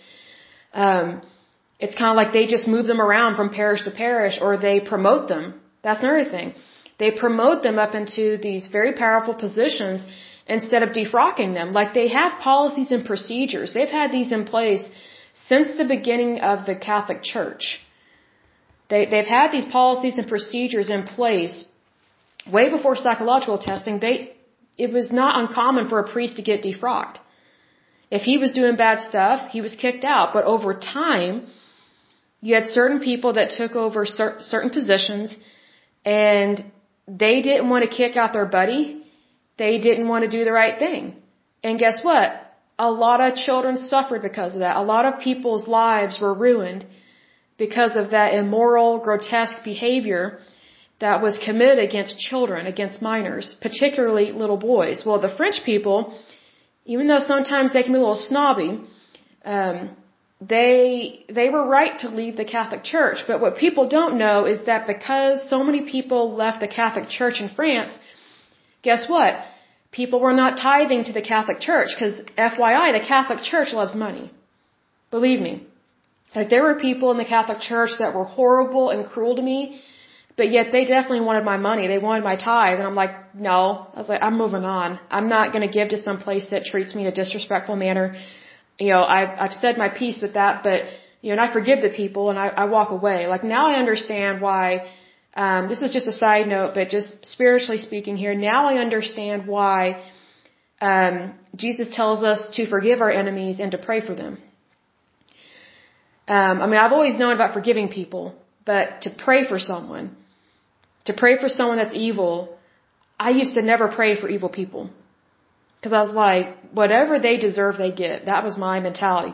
It's kind of like they just move them around from parish to parish, or they promote them. That's another thing. They promote them up into these very powerful positions instead of defrocking them. Like, they have policies and procedures. They've had these in place since the beginning of the Catholic Church. They've had these policies and procedures in place way before psychological testing. It was not uncommon for a priest to get defrocked. If he was doing bad stuff, he was kicked out. But over time, you had certain people that took over certain positions, and they didn't want to kick out their buddy. They didn't want to do the right thing. And guess what? A lot of children suffered because of that. A lot of people's lives were ruined because of that immoral, grotesque behavior that was committed against children, against minors, particularly little boys. Well, the French people, even though sometimes they can be a little snobby, they were right to leave the Catholic Church. But what people don't know is that because so many people left the Catholic Church in France, guess what? People were not tithing to the Catholic Church, because FYI, the Catholic Church loves money. Believe me. Like, there were people in the Catholic Church that were horrible and cruel to me, but yet they definitely wanted my money. They wanted my tithe. And I'm like, no. I was like, I'm moving on. I'm not going to give to some place that treats me in a disrespectful manner. I've said my piece with that, but, and I forgive the people and I walk away. Like, now I understand why, this is just a side note, but just spiritually speaking here, now I understand why, Jesus tells us to forgive our enemies and to pray for them. I've always known about forgiving people, but to pray for someone that's evil, I used to never pray for evil people. Because I was like, whatever they deserve, they get. That was my mentality.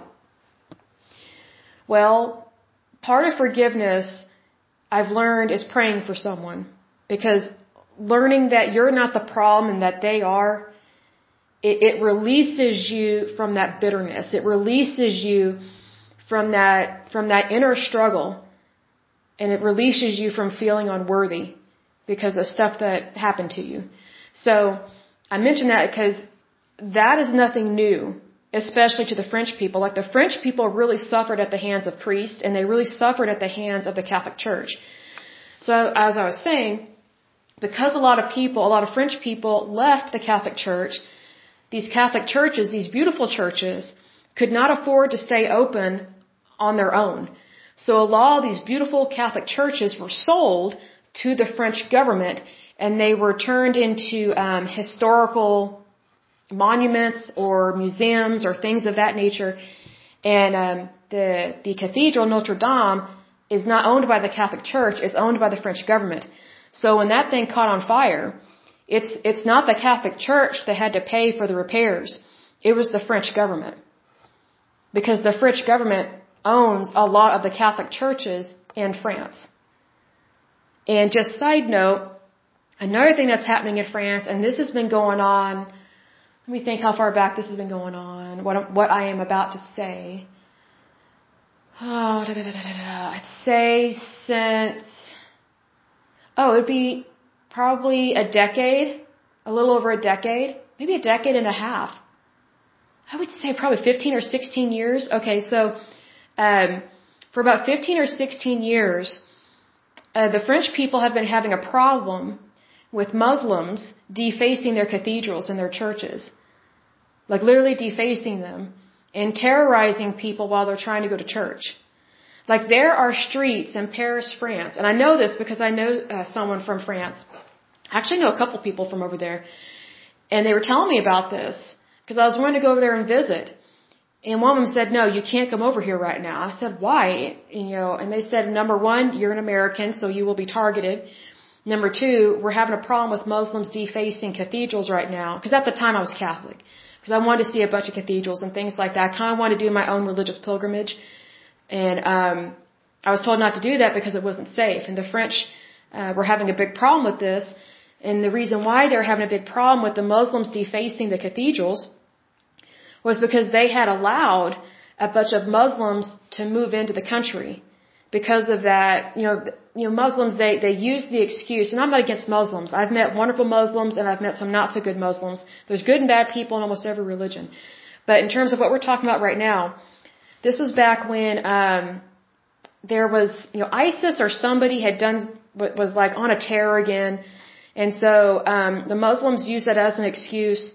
Well, part of forgiveness I've learned is praying for someone. Because learning that you're not the problem and that they are, it releases you from that bitterness. It releases you from that inner struggle. And it releases you from feeling unworthy because of stuff that happened to you. So I mention that because that is nothing new, especially to the French people. Like the French people really suffered at the hands of priests, and they really suffered at the hands of the Catholic Church. So as I was saying, because a lot of French people left the Catholic Church, these Catholic churches, these beautiful churches, could not afford to stay open on their own. So a lot of these beautiful Catholic churches were sold to the French government, and they were turned into historical monuments or museums or things of that nature. And the Cathedral Notre Dame is not owned by the Catholic Church; it's owned by the French government. So when that thing caught on fire, it's not the Catholic Church that had to pay for the repairs; it was the French government, because the French government owns a lot of the Catholic churches in France. And just side note, another thing that's happening in France, and this has been going on, let me think how far back this has been going on, what I am about to say. I'd say since, it'd be probably a decade, a little over a decade, maybe a decade and a half. I would say probably 15 or 16 years. Okay, so for about 15 or 16 years, the French people have been having a problem with Muslims defacing their cathedrals and their churches. Like literally defacing them and terrorizing people while they're trying to go to church. Like there are streets in Paris, France, and I know this because I know someone from France. I actually know a couple people from over there, and they were telling me about this because I was wanting to go over there and visit. And one of them said, no, you can't come over here right now. I said, why? And they said, number one, you're an American, so you will be targeted. Number two, we're having a problem with Muslims defacing cathedrals right now. Because at the time I was Catholic. Because I wanted to see a bunch of cathedrals and things like that. I kind of wanted to do my own religious pilgrimage. And I was told not to do that because it wasn't safe. And the French were having a big problem with this. And the reason why they were having a big problem with the Muslims defacing the cathedrals was because they had allowed a bunch of Muslims to move into the country. Because of that, Muslims, they use the excuse, and I'm not against Muslims. I've met wonderful Muslims and I've met some not so good Muslims. There's good and bad people in almost every religion. But in terms of what we're talking about right now, this was back when there was, ISIS or somebody had was like on a terror again. And so the Muslims used that as an excuse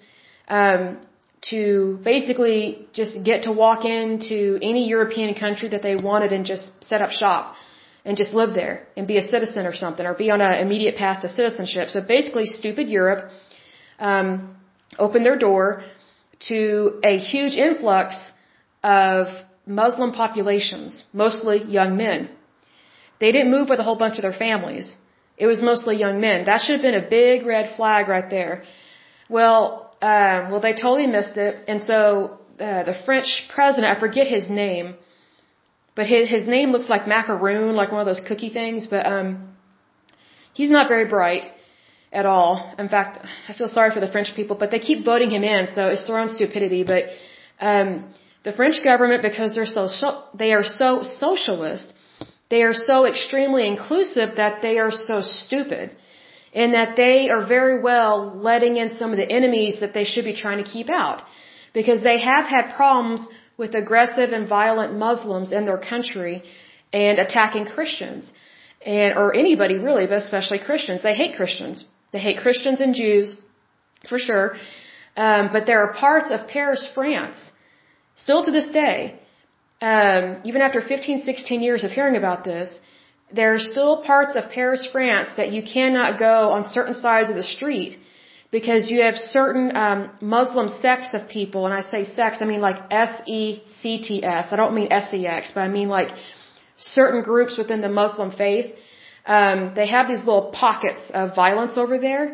to basically just get to walk into any European country that they wanted and just set up shop and just live there and be a citizen or something, or be on an immediate path to citizenship. So basically stupid Europe opened their door to a huge influx of Muslim populations, mostly young men. They didn't move with a whole bunch of their families. It was mostly young men. That should have been a big red flag right there. Well, they totally missed it. And so, the French president, I forget his name, but his name looks like macaroon, like one of those cookie things, but, he's not very bright at all. In fact, I feel sorry for the French people, but they keep voting him in, so it's their own stupidity. But, the French government, because they are so socialist, they are so extremely inclusive that they are so stupid. In that they are very well letting in some of the enemies that they should be trying to keep out. Because they have had problems with aggressive and violent Muslims in their country and attacking Christians. Or anybody really, but especially Christians. They hate Christians. They hate Christians and Jews, for sure. But there are parts of Paris, France, still to this day, even after 15, 16 years of hearing about this, there are still parts of Paris, France that you cannot go on certain sides of the street because you have certain Muslim sects of people, and I say sects, I mean like S-E-C-T-S. I don't mean S-E-X, but I mean like certain groups within the Muslim faith. They have these little pockets of violence over there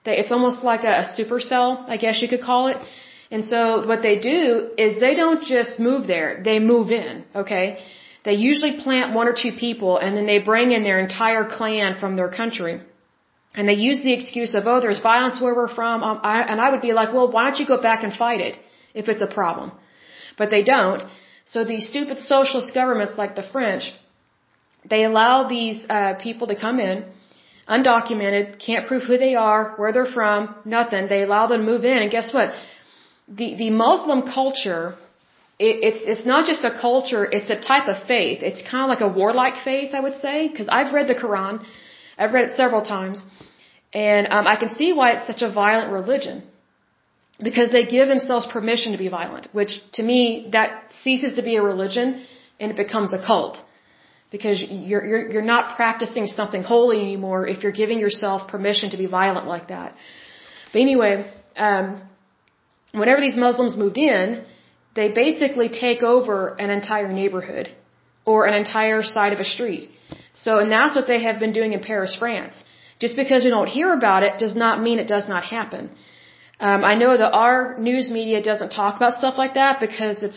It's almost like a supercell, I guess you could call it. And so what they do is they don't just move there, they move in, okay? They usually plant one or two people and then they bring in their entire clan from their country. And they use the excuse of, oh, there's violence where we're from. And I would be like, well, why don't you go back and fight it if it's a problem? But they don't. So these stupid socialist governments like the French, they allow these people to come in, undocumented, can't prove who they are, where they're from, nothing. They allow them to move in. And guess what? The Muslim culture, it's not just a culture, it's a type of faith. It's kind of like a warlike faith, I would say, because I've read the Quran. I've read it several times. And I can see why it's such a violent religion. Because they give themselves permission to be violent, which to me, that ceases to be a religion and it becomes a cult. Because you're not practicing something holy anymore if you're giving yourself permission to be violent like that. But anyway, whenever these Muslims moved in, they basically take over an entire neighborhood or an entire side of a street. So, and that's what they have been doing in Paris, France. Just because we don't hear about it does not mean it does not happen. I know that our news media doesn't talk about stuff like that because it's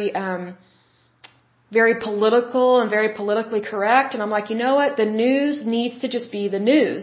very political and very politically correct. And I'm like, you know what? The news needs to just be the news.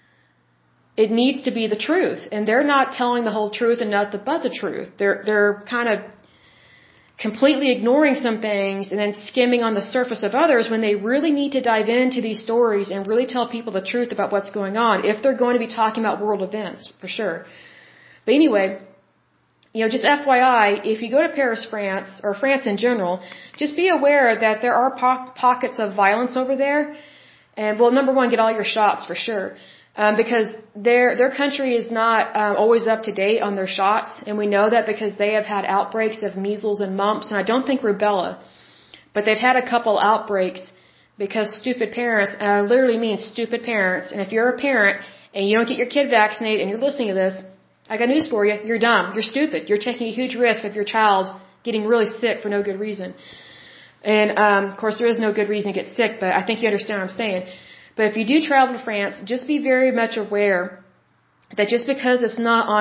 It needs to be the truth. And they're not telling the whole truth and nothing but the truth. They're kind of completely ignoring some things and then skimming on the surface of others when they really need to dive into these stories and really tell people the truth about what's going on if they're going to be talking about world events, for sure. But anyway, just FYI, if you go to Paris, France, or France in general, just be aware that there are pockets of violence over there. And, well, number one, get all your shots for sure. Because their country is not always up to date on their shots. And we know that because they have had outbreaks of measles and mumps, and I don't think rubella. But they've had a couple outbreaks because stupid parents, and I literally mean stupid parents, and if you're a parent and you don't get your kid vaccinated and you're listening to this, I got news for you. You're dumb. You're stupid. You're taking a huge risk of your child getting really sick for no good reason. And, of course, there is no good reason to get sick, but I think you understand what I'm saying. But if you do travel to France, just be very much aware that just because it's not on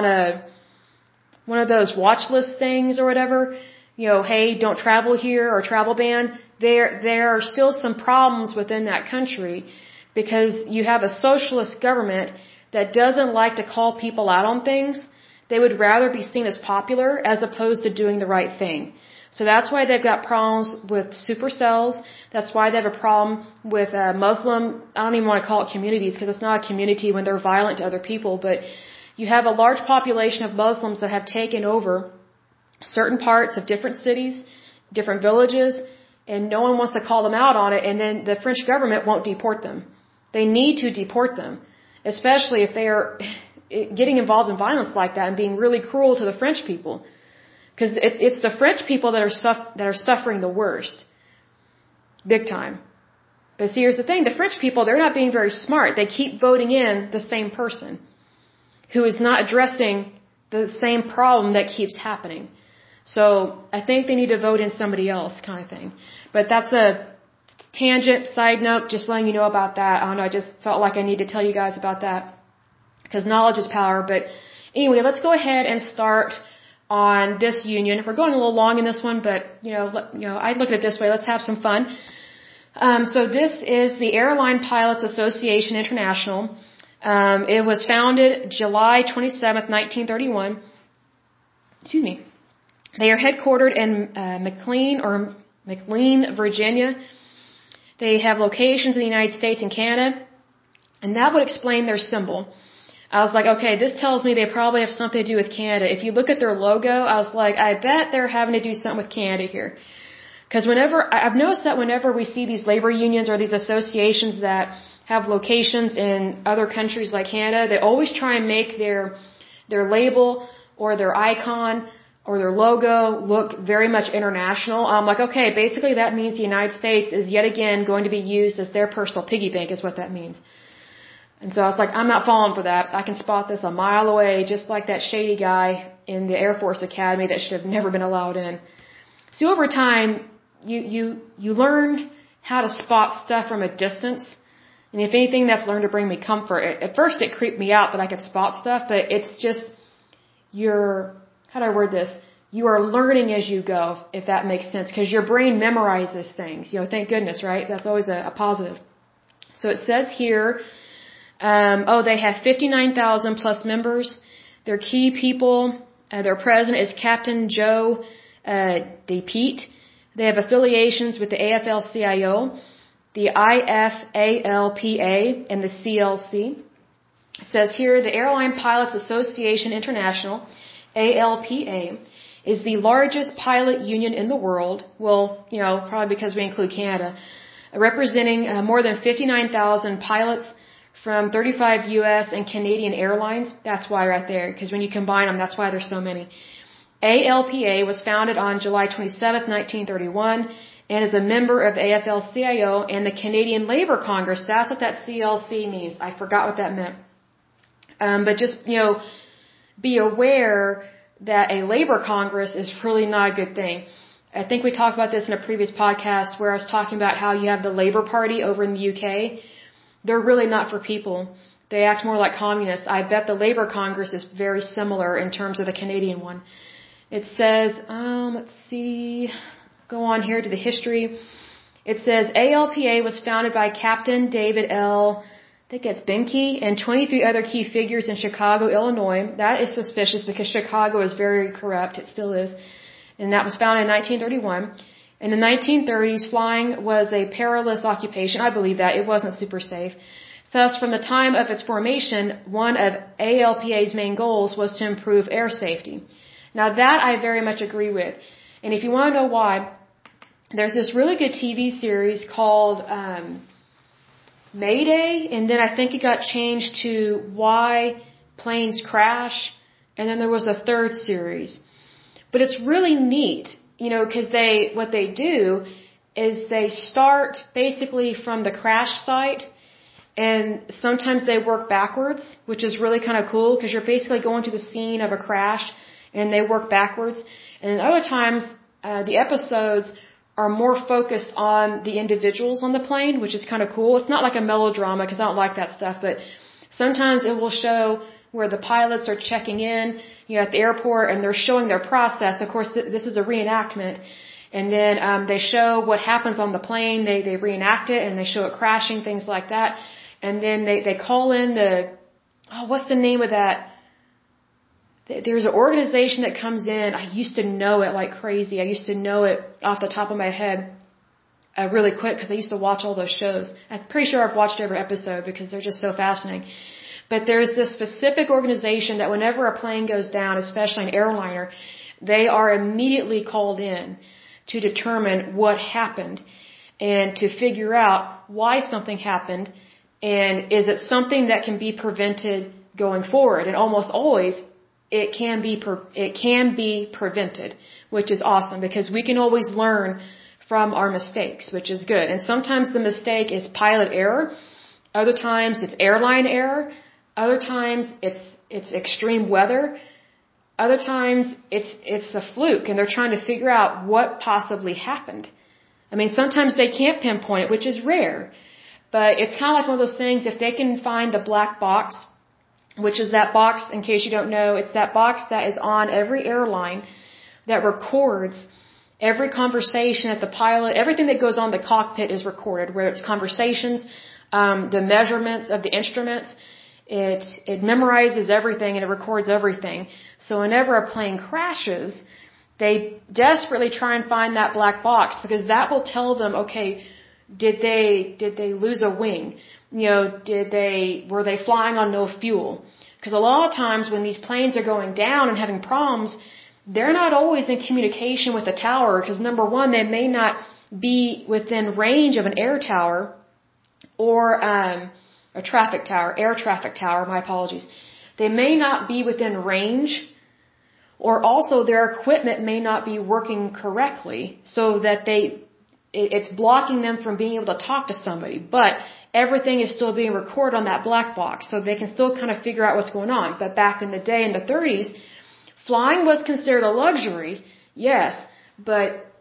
one of those watch list things or whatever, hey, don't travel here or travel ban, there are still some problems within that country because you have a socialist government that doesn't like to call people out on things. They would rather be seen as popular as opposed to doing the right thing. So that's why they've got problems with supercells. That's why they have a problem with Muslim, I don't even want to call it communities because it's not a community when they're violent to other people, but you have a large population of Muslims that have taken over certain parts of different cities, different villages, and no one wants to call them out on it, and then the French government won't deport them. They need to deport them, especially if they are getting involved in violence like that and being really cruel to the French people. Because it's the French people that are suffering the worst. Big time. But see, here's the thing. The French people, they're not being very smart. They keep voting in the same person who is not addressing the same problem that keeps happening. So I think they need to vote in somebody else kind of thing. But that's a tangent, side note, just letting you know about that. I don't know, I just felt like I need to tell you guys about that. Because knowledge is power. But anyway, let's go ahead and start on this union. We're going a little long in this one, but I look at it this way. Let's have some fun. So this is the Airline Pilots Association International. It was founded July 27th, 1931. Excuse me. They are headquartered in McLean, Virginia. They have locations in the United States and Canada, and that would explain their symbol. I was like, okay, this tells me they probably have something to do with Canada. If you look at their logo, I was like, I bet they're having to do something with Canada here. Because I've noticed that whenever we see these labor unions or these associations that have locations in other countries like Canada, they always try and make their label or their icon or their logo look very much international. I'm like, okay, basically that means the United States is yet again going to be used as their personal piggy bank is what that means. And so I was like, I'm not falling for that. I can spot this a mile away, just like that shady guy in the Air Force Academy that should have never been allowed in. So over time, you learn how to spot stuff from a distance. And if anything, that's learned to bring me comfort. At first, it creeped me out that I could spot stuff, but it's just how do I word this? You are learning as you go, if that makes sense, because your brain memorizes things. Thank goodness, right? That's always a positive. So it says here, they have 59,000 plus members. Their key people, their president is Captain Joe DePete. They have affiliations with the AFL-CIO, the IFALPA, and the CLC. It says here, the Airline Pilots Association International, ALPA, is the largest pilot union in the world. Well, probably because we include Canada, representing more than 59,000 pilots from 35 U.S. and Canadian airlines. That's why right there, because when you combine them, that's why there's so many. ALPA was founded on July 27, 1931, and is a member of the AFL-CIO and the Canadian Labour Congress. That's what that CLC means. I forgot what that meant. But just, be aware that a labor congress is really not a good thing. I think we talked about this in a previous podcast where I was talking about how you have the Labour Party over in the UK. They're really not for people. They act more like communists. I bet the Labour Congress is very similar in terms of the Canadian one. It says, let's see, go on here to the history. It says ALPA was founded by Captain David L. I think it's Benke and 23 other key figures in Chicago, Illinois. That is suspicious because Chicago is very corrupt. It still is. And that was founded in 1931. In the 1930s, flying was a perilous occupation. I believe that. It wasn't super safe. Thus, from the time of its formation, one of ALPA's main goals was to improve air safety. Now that I very much agree with. And if you want to know why, there's this really good TV series called Mayday, and then I think it got changed to Why Planes Crash, and then there was a third series. But it's really neat, because what they do is they start basically from the crash site, and sometimes they work backwards, which is really kind of cool, because you're basically going to the scene of a crash, and they work backwards. And then other times, the episodes are more focused on the individuals on the plane, which is kind of cool. It's not like a melodrama because I don't like that stuff, but sometimes it will show where the pilots are checking in, at the airport, and they're showing their process. Of course, this is a reenactment. And then they show what happens on the plane. They reenact it, and they show it crashing, things like that. And then they call in what's the name of that? There's an organization that comes in. I used to know it like crazy. I used to know it off the top of my head really quick because I used to watch all those shows. I'm pretty sure I've watched every episode because they're just so fascinating. But there's this specific organization that whenever a plane goes down, especially an airliner, they are immediately called in to determine what happened and to figure out why something happened and is it something that can be prevented going forward. And almost always it can be prevented, which is awesome because we can always learn from our mistakes, which is good. And sometimes the mistake is pilot error. Other times it's airline error. Other times it's extreme weather. Other times it's a fluke and they're trying to figure out what possibly happened. I mean, sometimes they can't pinpoint it, which is rare. But it's kind of like one of those things, if they can find the black box, which is that box, in case you don't know, it's that box that is on every airline that records every conversation that the pilot, everything that goes on the cockpit is recorded, whether it's conversations, the measurements of the instruments. It memorizes everything and it records everything. So whenever a plane crashes, they desperately try and find that black box because that will tell them, okay, did they lose a wing? Were they flying on no fuel? Because a lot of times when these planes are going down and having problems, they're not always in communication with the tower because number one, they may not be within range of an air tower or a traffic tower, air traffic tower, my apologies. They may not be within range or also their equipment may not be working correctly so that it's blocking them from being able to talk to somebody. But everything is still being recorded on that black box so they can still kind of figure out what's going on. But back in the day in the 30s, flying was considered a luxury, yes, but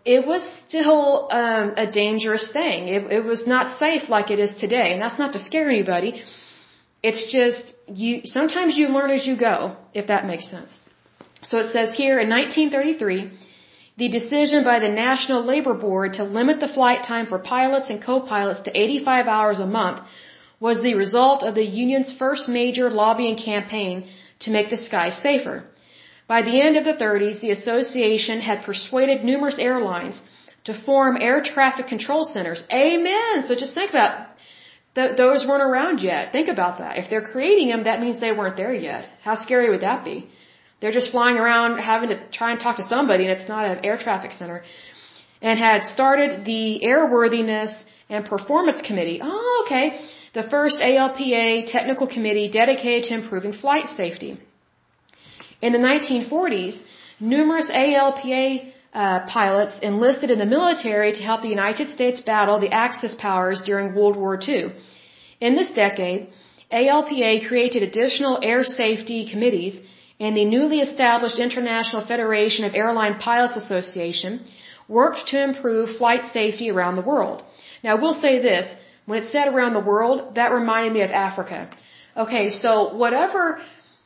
it was still a dangerous thing. It was not safe like it is today. And that's not to scare anybody. It's just, sometimes you learn as you go, if that makes sense. So it says here, in 1933, the decision by the National Labor Board to limit the flight time for pilots and co-pilots to 85 hours a month was the result of the union's first major lobbying campaign to make the sky safer. By the end of the 30s, the association had persuaded numerous airlines to form air traffic control centers. Amen! So just think about those weren't around yet. Think about that. If they're creating them, that means they weren't there yet. How scary would that be? They're just flying around having to try and talk to somebody, and it's not an air traffic center. And had started the Airworthiness and Performance Committee. Oh, okay. The first ALPA technical committee dedicated to improving flight safety. In the 1940s, numerous ALPA pilots enlisted in the military to help the United States battle the Axis powers during World War II. In this decade, ALPA created additional air safety committees, and the newly established International Federation of Airline Pilots Association worked to improve flight safety around the world. Now, I will say this. When it said around the world, that reminded me of Africa. Okay, so whatever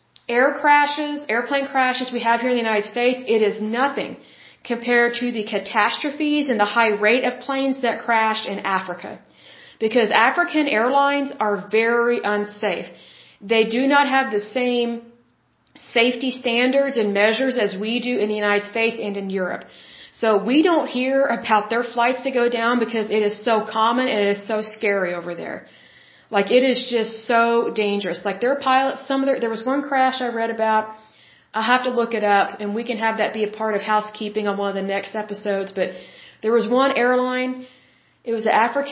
airplane crashes we have here in the United States, it is nothing compared to the catastrophes and the high rate of planes that crash in Africa. Because African airlines are very unsafe. They do not have the same safety standards and measures as we do in the United States and in Europe. So we don't hear about their flights that go down because it is so common and it is so scary over there. Like, it is just so dangerous. Like, their pilots, there was one crash I read about. I'll have to look it up, and we can have that be a part of housekeeping on one of the next episodes. But there was one airline. It was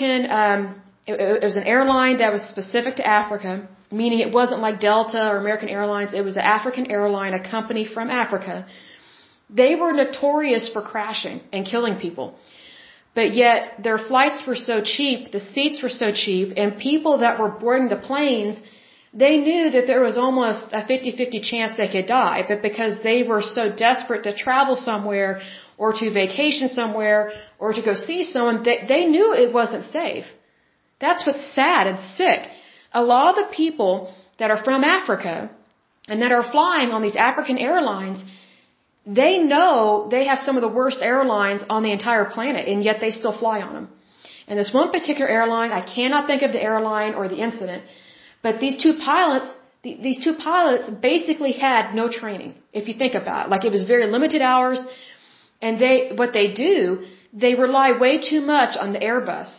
it was an airline that was specific to Africa, meaning it wasn't like Delta or American Airlines. It was an African airline, a company from Africa. They were notorious for crashing and killing people. But yet, their flights were so cheap, the seats were so cheap, and people that were boarding the planes, they knew that there was almost a 50-50 chance they could die. But because they were so desperate to travel somewhere, or to vacation somewhere, or to go see someone, they knew it wasn't safe. That's what's sad and sick. A lot of the people that are from Africa, and that are flying on these African airlines, they know they have some of the worst airlines on the entire planet, and yet they still fly on them. And this one particular airline, I cannot think of the airline or the incident, but these two pilots basically had no training, if you think about it. Like, it was very limited hours, and what they do, they rely way too much on the Airbus.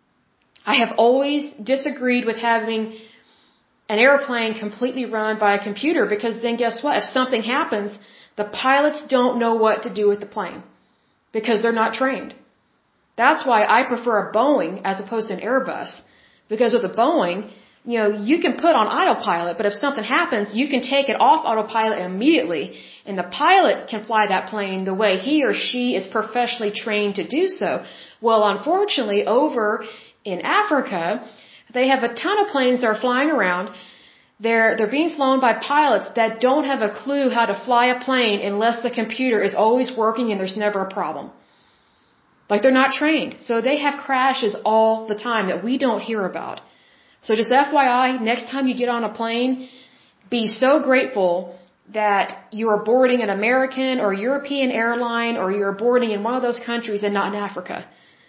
I have always disagreed with having an airplane completely run by a computer, because then guess what? If something happens, the pilots don't know what to do with the plane because they're not trained. That's why I prefer a Boeing as opposed to an Airbus, because with a Boeing, you can put on autopilot, but if something happens, you can take it off autopilot immediately, and the pilot can fly that plane the way he or she is professionally trained to do so. Well, unfortunately, over in Africa, they have a ton of planes that are flying around. They're being flown by pilots that don't have a clue how to fly a plane unless the computer is always working and there's never a problem. Like, they're not trained. So they have crashes all the time that we don't hear about. So just FYI, next time you get on a plane, be so grateful that you are boarding an American or European airline, or you're boarding in one of those countries and not in Africa.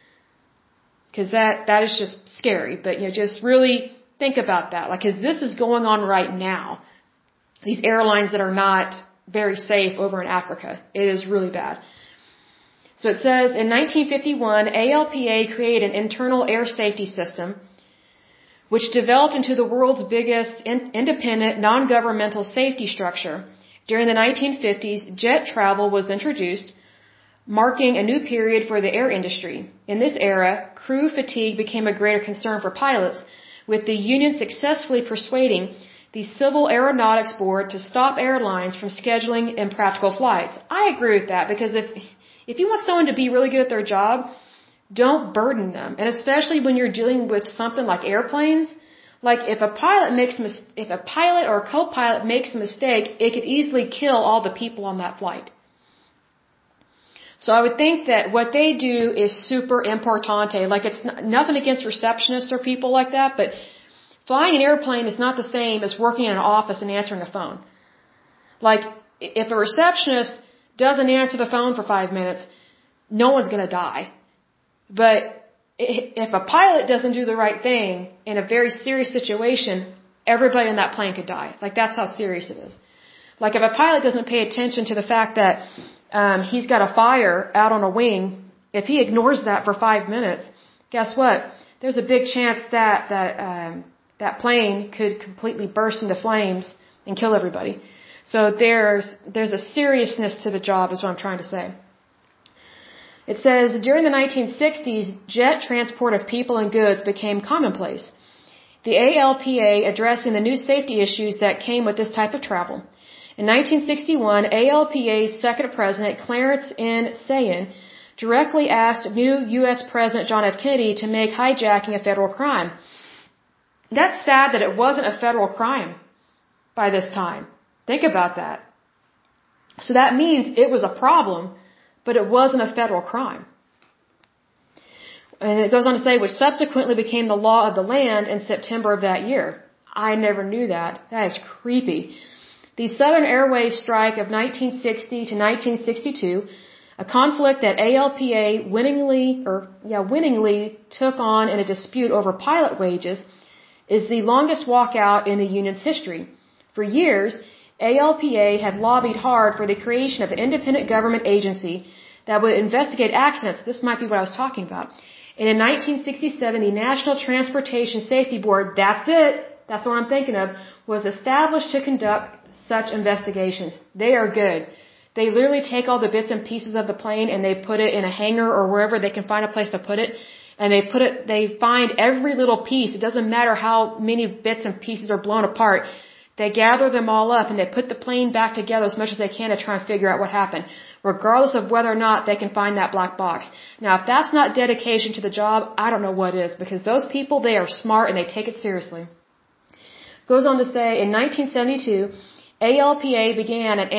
Because that is just scary. But, just really think about that. Like, because this is going on right now. These airlines that are not very safe over in Africa. It is really bad. So it says, in 1951, ALPA created an internal air safety system which developed into the world's biggest independent, non-governmental safety structure. During the 1950s, jet travel was introduced, marking a new period for the air industry. In this era, crew fatigue became a greater concern for pilots, with the union successfully persuading the Civil Aeronautics Board to stop airlines from scheduling impractical flights. I agree with that, because if you want someone to be really good at their job, don't burden them. And especially when you're dealing with something like airplanes, like if a pilot or a co-pilot makes a mistake, it could easily kill all the people on that flight. So I would think that what they do is super importante. Like it's nothing against receptionists or people like that, but flying an airplane is not the same as working in an office and answering a phone. Like if a receptionist doesn't answer the phone for 5 minutes, no one's going to die. But if a pilot doesn't do the right thing in a very serious situation, everybody on that plane could die. Like that's how serious it is. Like if a pilot doesn't pay attention to the fact that he's got a fire out on a wing, if he ignores that for 5 minutes, guess what? There's a big chance that that plane could completely burst into flames and kill everybody. So there's a seriousness to the job, is what I'm trying to say. It says, during the 1960s, jet transport of people and goods became commonplace. The ALPA addressing the new safety issues that came with this type of travel. In 1961, ALPA's second president, Clarence N. Sayin, directly asked new U.S. President John F. Kennedy to make hijacking a federal crime. That's sad that it wasn't a federal crime by this time. Think about that. So that means it was a problem, but it wasn't a federal crime. And it goes on to say, which subsequently became the law of the land in September of that year. I never knew that. That is creepy. The Southern Airways strike of 1960 to 1962, a conflict that ALPA winningly took on in a dispute over pilot wages, is the longest walkout in the union's history. For years, ALPA had lobbied hard for the creation of an independent government agency that would investigate accidents. This might be what I was talking about. And in 1967, the National Transportation Safety Board, that's it, that's what I'm thinking of, was established to conduct such investigations. They are good. They literally take all the bits and pieces of the plane and they put it in a hangar or wherever they can find a place to put it. And they find every little piece. It doesn't matter how many bits and pieces are blown apart. They gather them all up and they put the plane back together as much as they can to try and figure out what happened, regardless of whether or not they can find that black box. Now, if that's not dedication to the job, I don't know what is, because those people, they are smart and they take it seriously. Goes on to say, in 1972, ALPA began an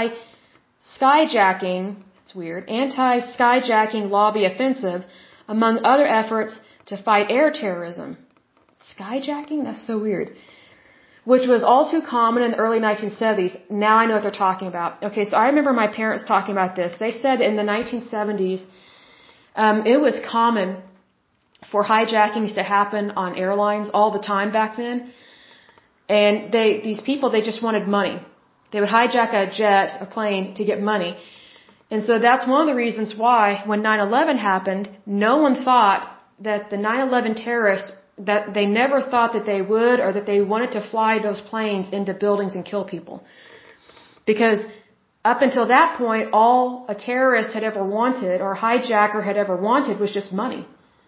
anti-skyjacking lobby offensive, among other efforts to fight air terrorism. Skyjacking? That's so weird. Which was all too common in the early 1970s. Now I know what they're talking about. Okay, so I remember my parents talking about this. They said in the 1970s, it was common for hijackings to happen on airlines all the time back then. And these people, they just wanted money. They would hijack a plane to get money. And so that's one of the reasons why when 9/11 happened, no one thought that the 9/11 terrorists, that they never thought that they would or that they wanted to fly those planes into buildings and kill people. Because up until that point, all a terrorist had ever wanted or a hijacker had ever wanted was just money.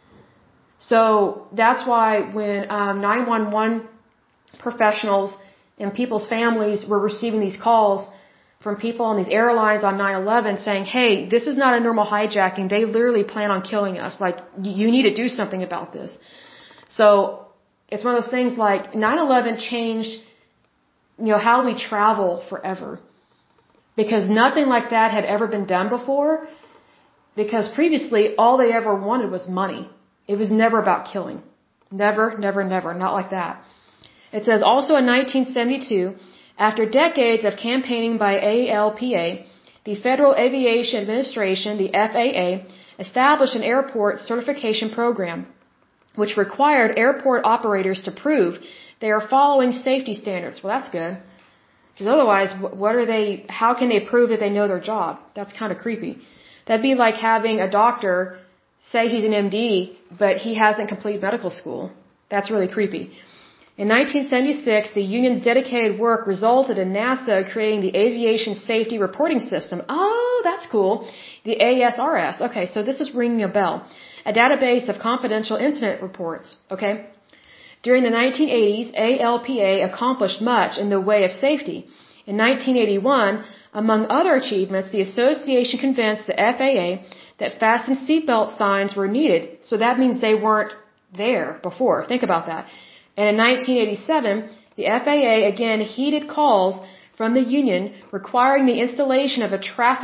So that's why when 911 professionals and people's families were receiving these calls from people on these airlines on 9/11 saying, hey, this is not a normal hijacking. They literally plan on killing us. Like, you need to do something about this. So it's one of those things like 9/11 changed, how we travel forever. Because nothing like that had ever been done before. Because previously, all they ever wanted was money. It was never about killing. Never, never, never. Not like that. It says also in 1972, after decades of campaigning by ALPA, the Federal Aviation Administration, the FAA, established an airport certification program, which required airport operators to prove they are following safety standards. Well, that's good. Because otherwise, how can they prove that they know their job? That's kind of creepy. That'd be like having a doctor say he's an MD, but he hasn't completed medical school. That's really creepy. In 1976, the union's dedicated work resulted in NASA creating the Aviation Safety Reporting System. Oh, that's cool. The ASRS. Okay, so this is ringing a bell. A database of confidential incident reports. Okay? During the 1980s, ALPA accomplished much in the way of safety. In 1981, among other achievements, the association convinced the FAA that fasten seatbelt signs were needed. So that means they weren't there before. Think about that. And in 1987, the FAA again heeded calls from the union requiring the installation of a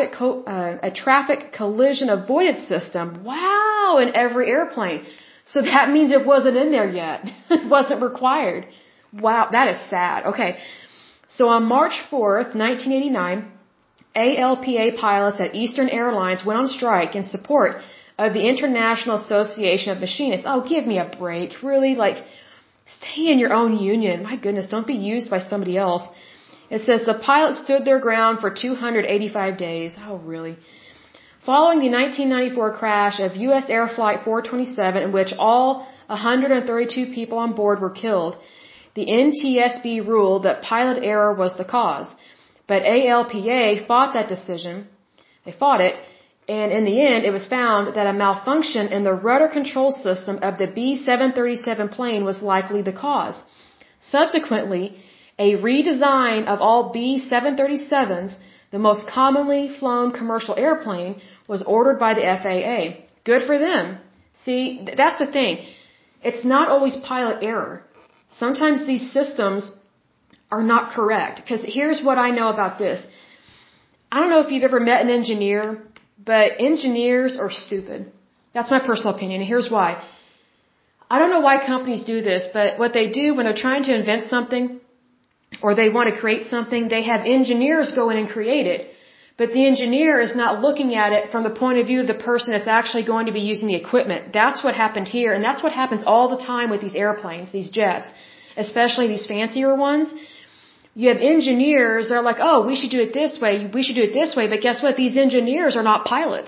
traffic collision avoidance system. Wow, in every airplane. So that means it wasn't in there yet. It wasn't required. Wow, that is sad. Okay. So on March 4th, 1989, ALPA pilots at Eastern Airlines went on strike in support of the International Association of Machinists. Oh, give me a break. Really? Like, stay in your own union. My goodness, don't be used by somebody else. It says the pilots stood their ground for 285 days. Oh, really? Following the 1994 crash of U.S. Air Flight 427, in which all 132 people on board were killed, the NTSB ruled that pilot error was the cause. But ALPA fought that decision. They fought it. And in the end, it was found that a malfunction in the rudder control system of the B-737 plane was likely the cause. Subsequently, a redesign of all B-737s, the most commonly flown commercial airplane, was ordered by the FAA. Good for them. See, that's the thing. It's not always pilot error. Sometimes these systems are not correct. Because here's what I know about this. I don't know if you've ever met an engineer, but engineers are stupid. That's my personal opinion, and here's why. I don't know why companies do this, but what they do when they're trying to invent something, or they want to create something, they have engineers go in and create it. But the engineer is not looking at it from the point of view of the person that's actually going to be using the equipment. That's what happened here, and that's what happens all the time with these airplanes, these jets, especially these fancier ones. You have engineers that are like, oh, we should do it this way, we should do it this way, but guess what? These engineers are not pilots.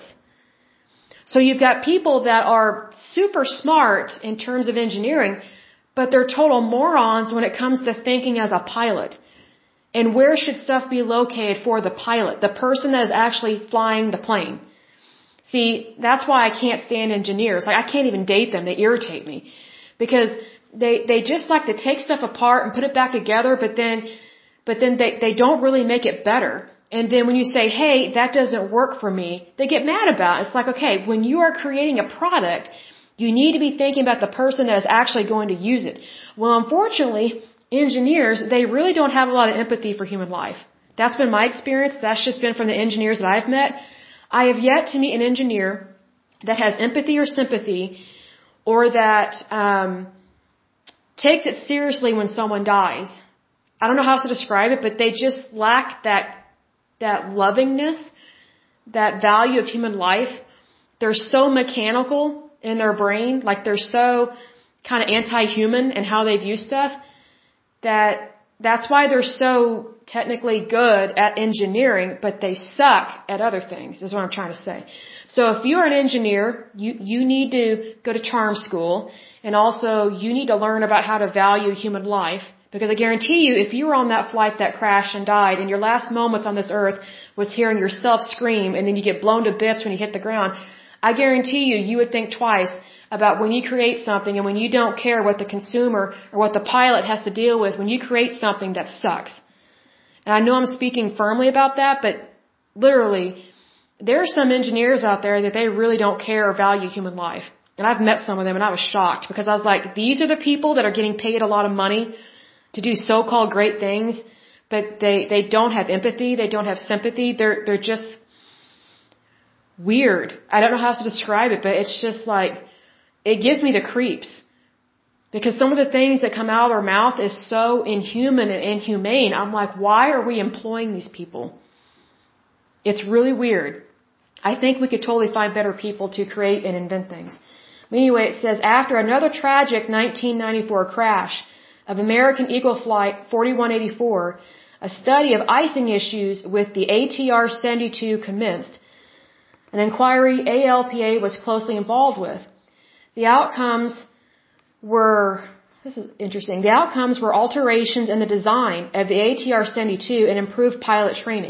So you've got people that are super smart in terms of engineering, but they're total morons when it comes to thinking as a pilot. And where should stuff be located for the pilot, the person that is actually flying the plane? See, that's why I can't stand engineers. Like, I can't even date them. They irritate me. Because they just like to take stuff apart and put it back together, but then they don't really make it better. And then when you say, hey, that doesn't work for me, they get mad about it. It's like, okay, when you are creating a product, you need to be thinking about the person that is actually going to use it. Well, unfortunately, engineers, they really don't have a lot of empathy for human life. That's been my experience. That's just been from the engineers that I've met. I have yet to meet an engineer that has empathy or sympathy, or that takes it seriously when someone dies. I don't know how to describe it, but they just lack that lovingness, that value of human life. They're so mechanical in their brain, like they're so kind of anti-human in how they view stuff, that's why they're so technically good at engineering, but they suck at other things, is what I'm trying to say. So if you're an engineer, you need to go to charm school, and also you need to learn about how to value human life. Because I guarantee you, if you were on that flight that crashed and died, and your last moments on this earth was hearing yourself scream, and then you get blown to bits when you hit the ground, I guarantee you would think twice about when you create something and when you don't care what the consumer or what the pilot has to deal with when you create something that sucks. And I know I'm speaking firmly about that, but literally, there are some engineers out there that they really don't care or value human life. And I've met some of them, and I was shocked because I was like, these are the people that are getting paid a lot of money to do so-called great things, but they don't have empathy, they don't have sympathy, they're just weird. I don't know how to describe it, but it's just like, it gives me the creeps. Because some of the things that come out of their mouth is so inhuman and inhumane. I'm like, why are we employing these people? It's really weird. I think we could totally find better people to create and invent things. But anyway, it says, after another tragic 1994 crash of American Eagle Flight 4184, a study of icing issues with the ATR-72 commenced, an inquiry ALPA was closely involved with. The outcomes were, this is interesting, the outcomes were alterations in the design of the ATR-72 and improved pilot training.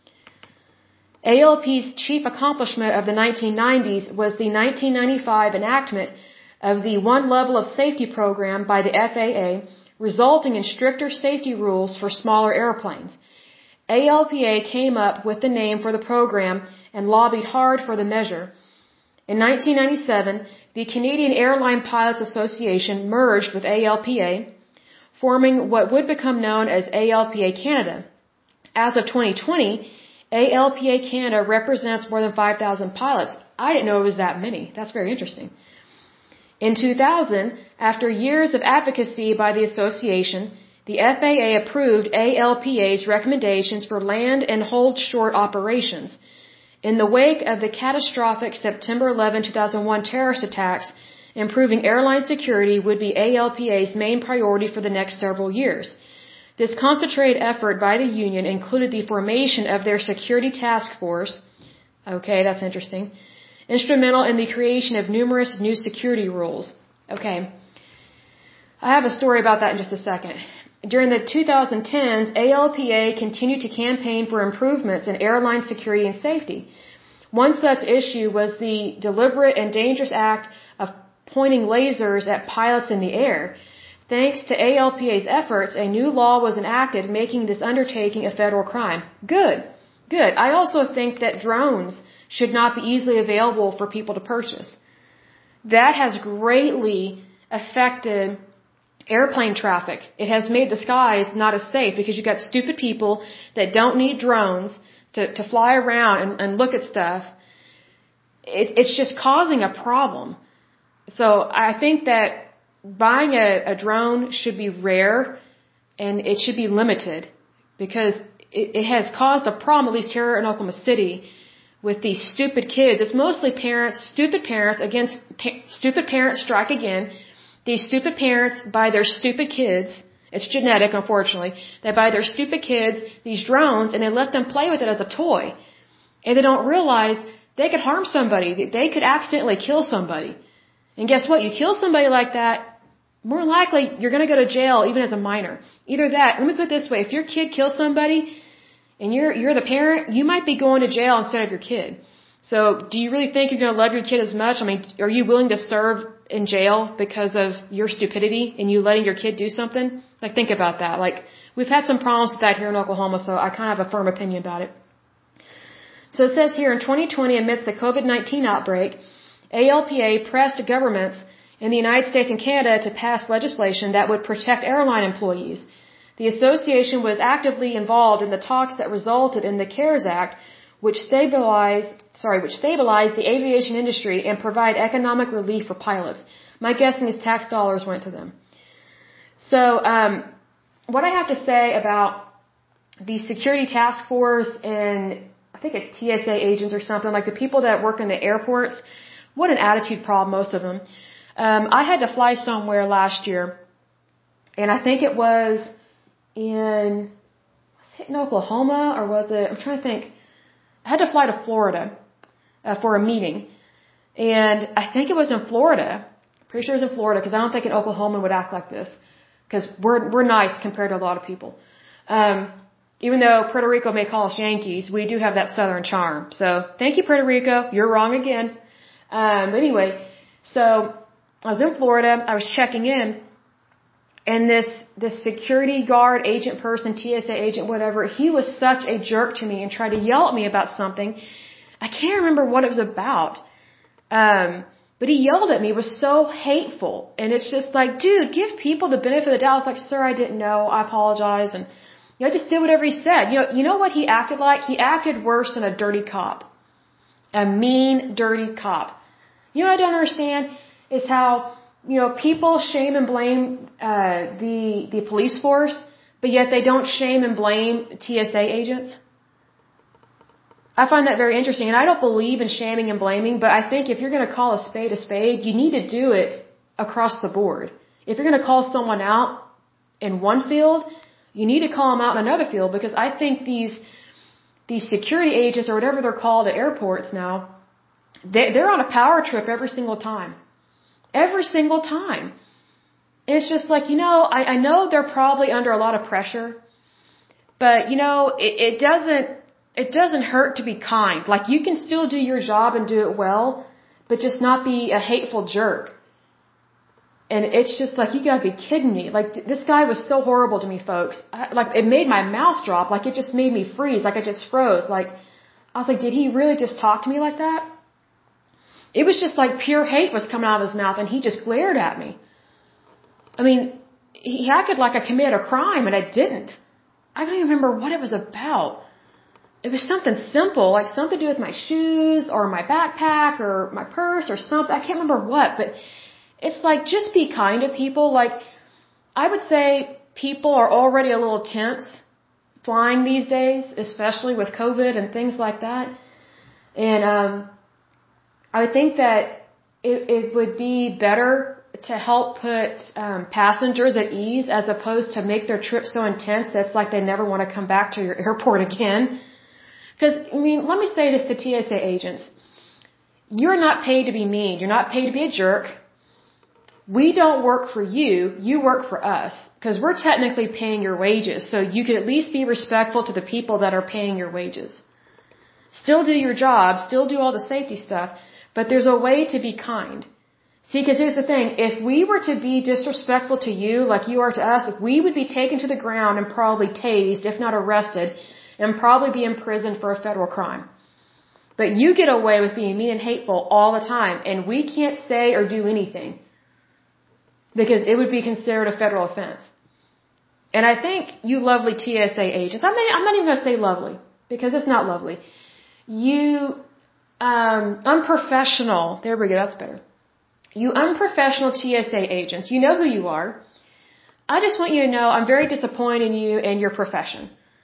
ALP's chief accomplishment of the 1990s was the 1995 enactment of the One Level of Safety program by the FAA, resulting in stricter safety rules for smaller airplanes. ALPA came up with the name for the program and lobbied hard for the measure. In 1997, the Canadian Airline Pilots Association merged with ALPA, forming what would become known as ALPA Canada. As of 2020, ALPA Canada represents more than 5,000 pilots. I didn't know it was that many. That's very interesting. In 2000, after years of advocacy by the association, the FAA approved ALPA's recommendations for land and hold short operations. In the wake of the catastrophic September 11, 2001 terrorist attacks, improving airline security would be ALPA's main priority for the next several years. This concentrated effort by the union included the formation of their security task force. Okay, that's interesting. Instrumental in the creation of numerous new security rules. Okay. I have a story about that in just a second. During the 2010s, ALPA continued to campaign for improvements in airline security and safety. One such issue was the deliberate and dangerous act of pointing lasers at pilots in the air. Thanks to ALPA's efforts, a new law was enacted making this undertaking a federal crime. Good. Good. I also think that drones should not be easily available for people to purchase. That has greatly affected airplane traffic. It has made the skies not as safe because you've got stupid people that don't need drones to fly around and look at stuff. It's just causing a problem. So I think that buying a drone should be rare and it should be limited because it has caused a problem, at least here in Oklahoma City, with these stupid kids. It's mostly parents, stupid parents against stupid parents strike again. These stupid parents buy their stupid kids, it's genetic unfortunately, they buy their stupid kids these drones and they let them play with it as a toy. And they don't realize they could harm somebody, they could accidentally kill somebody. And guess what? You kill somebody like that, more likely you're going to go to jail even as a minor. Either that, let me put it this way, if your kid kills somebody and you're the parent, you might be going to jail instead of your kid. So do you really think you're going to love your kid as much? I mean, are you willing to serve in jail because of your stupidity and you letting your kid do something? Like, think about that. Like, we've had some problems with that here in Oklahoma, so I kind of have a firm opinion about it. So it says here, in 2020, amidst the COVID-19 outbreak, ALPA pressed governments in the United States and Canada to pass legislation that would protect airline employees. The association was actively involved in the talks that resulted in the CARES Act, which stabilized the aviation industry and provide economic relief for pilots. My guessing is tax dollars went to them. So, what I have to say about the security task force and I think it's TSA agents or something, like the people that work in the airports, what an attitude problem, most of them. I had to fly somewhere last year, and I think it was in Oklahoma, or was it, I'm trying to think. I had to fly to Florida for a meeting, and I think it was in Florida. Pretty sure it was in Florida because I don't think an Oklahoma would act like this because we're nice compared to a lot of people. Even though Puerto Rico may call us Yankees, we do have that Southern charm. So thank you, Puerto Rico. You're wrong again. But anyway, so I was in Florida. I was checking in, and this security guard, agent person, TSA agent, whatever, he was such a jerk to me and tried to yell at me about something. I can't remember what it was about. But he yelled at me. It was so hateful. And it's just like, dude, give people the benefit of the doubt. It's like, sir, I didn't know. I apologize. And, I just did whatever he said. You know what he acted like? He acted worse than a dirty cop. A mean, dirty cop. You know what I don't understand is how, people shame and blame, the police force, but yet they don't shame and blame TSA agents. I find that very interesting, and I don't believe in shaming and blaming, but I think if you're going to call a spade, you need to do it across the board. If you're going to call someone out in one field, you need to call them out in another field, because I think these security agents, or whatever they're called at airports now, they're on a power trip every single time. Every single time. And it's just like, I know they're probably under a lot of pressure, but, it doesn't hurt to be kind. Like, you can still do your job and do it well, but just not be a hateful jerk. And it's just like, you gotta be kidding me. Like, this guy was so horrible to me, folks. It made my mouth drop. Like, it just made me freeze. Like, I just froze. Like, I was like, did he really just talk to me like that? It was just like pure hate was coming out of his mouth, and he just glared at me. I mean, he acted like I committed a crime, and I didn't. I don't even remember what it was about. It was something simple, like something to do with my shoes or my backpack or my purse or something. I can't remember what, but it's like, just be kind to people. Like, I would say people are already a little tense flying these days, especially with COVID and things like that. And I would think that it would be better to help put passengers at ease as opposed to make their trip so intense that it's like they never want to come back to your airport again. Because, I mean, let me say this to TSA agents. You're not paid to be mean. You're not paid to be a jerk. We don't work for you. You work for us. Because we're technically paying your wages. So you could at least be respectful to the people that are paying your wages. Still do your job. Still do all the safety stuff. But there's a way to be kind. See, because here's the thing. If we were to be disrespectful to you like you are to us, we would be taken to the ground and probably tased, if not arrested, and probably be imprisoned for a federal crime. But you get away with being mean and hateful all the time, and we can't say or do anything because it would be considered a federal offense. And I think you lovely TSA agents, I'm not even going to say lovely because it's not lovely. You unprofessional, there we go, that's better. You unprofessional TSA agents, you know who you are. I just want you to know I'm very disappointed in you and your profession.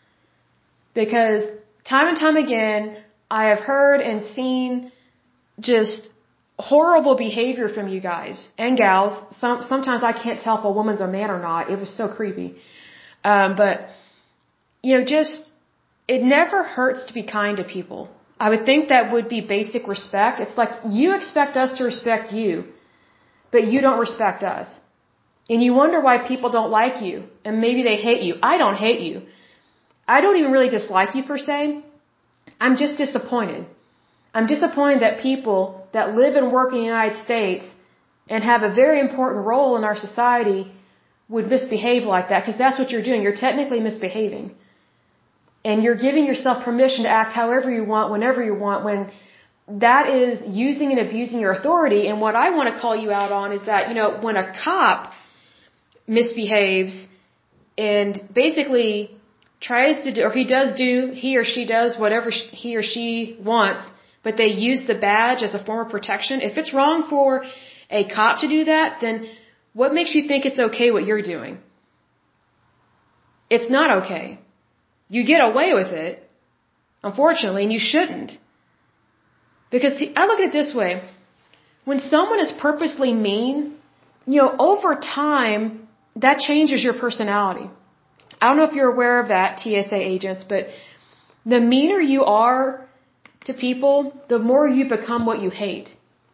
Because time and time again, I have heard and seen just horrible behavior from you guys and gals. Sometimes I can't tell if a woman's a man or not. It was so creepy. But, you know, just, it never hurts to be kind to people. I would think that would be basic respect. It's like you expect us to respect you, but you don't respect us. And you wonder why people don't like you, and maybe they hate you. I don't hate you. I don't even really dislike you per se. I'm just disappointed. I'm disappointed that people that live and work in the United States and have a very important role in our society would misbehave like that, because that's what you're doing. You're technically misbehaving. And you're giving yourself permission to act however you want, whenever you want, when that is using and abusing your authority. And what I want to call you out on is that, you know, when a cop misbehaves and basically tries to do, or he or she does whatever he or she wants, but they use the badge as a form of protection. If it's wrong for a cop to do that, then what makes you think it's okay what you're doing? It's not okay. You get away with it, unfortunately, and you shouldn't. Because see, I look at it this way. When someone is purposely mean, you know, over time, that changes your personality. I don't know if you're aware of that, TSA agents, but the meaner you are to people, the more you become what you hate.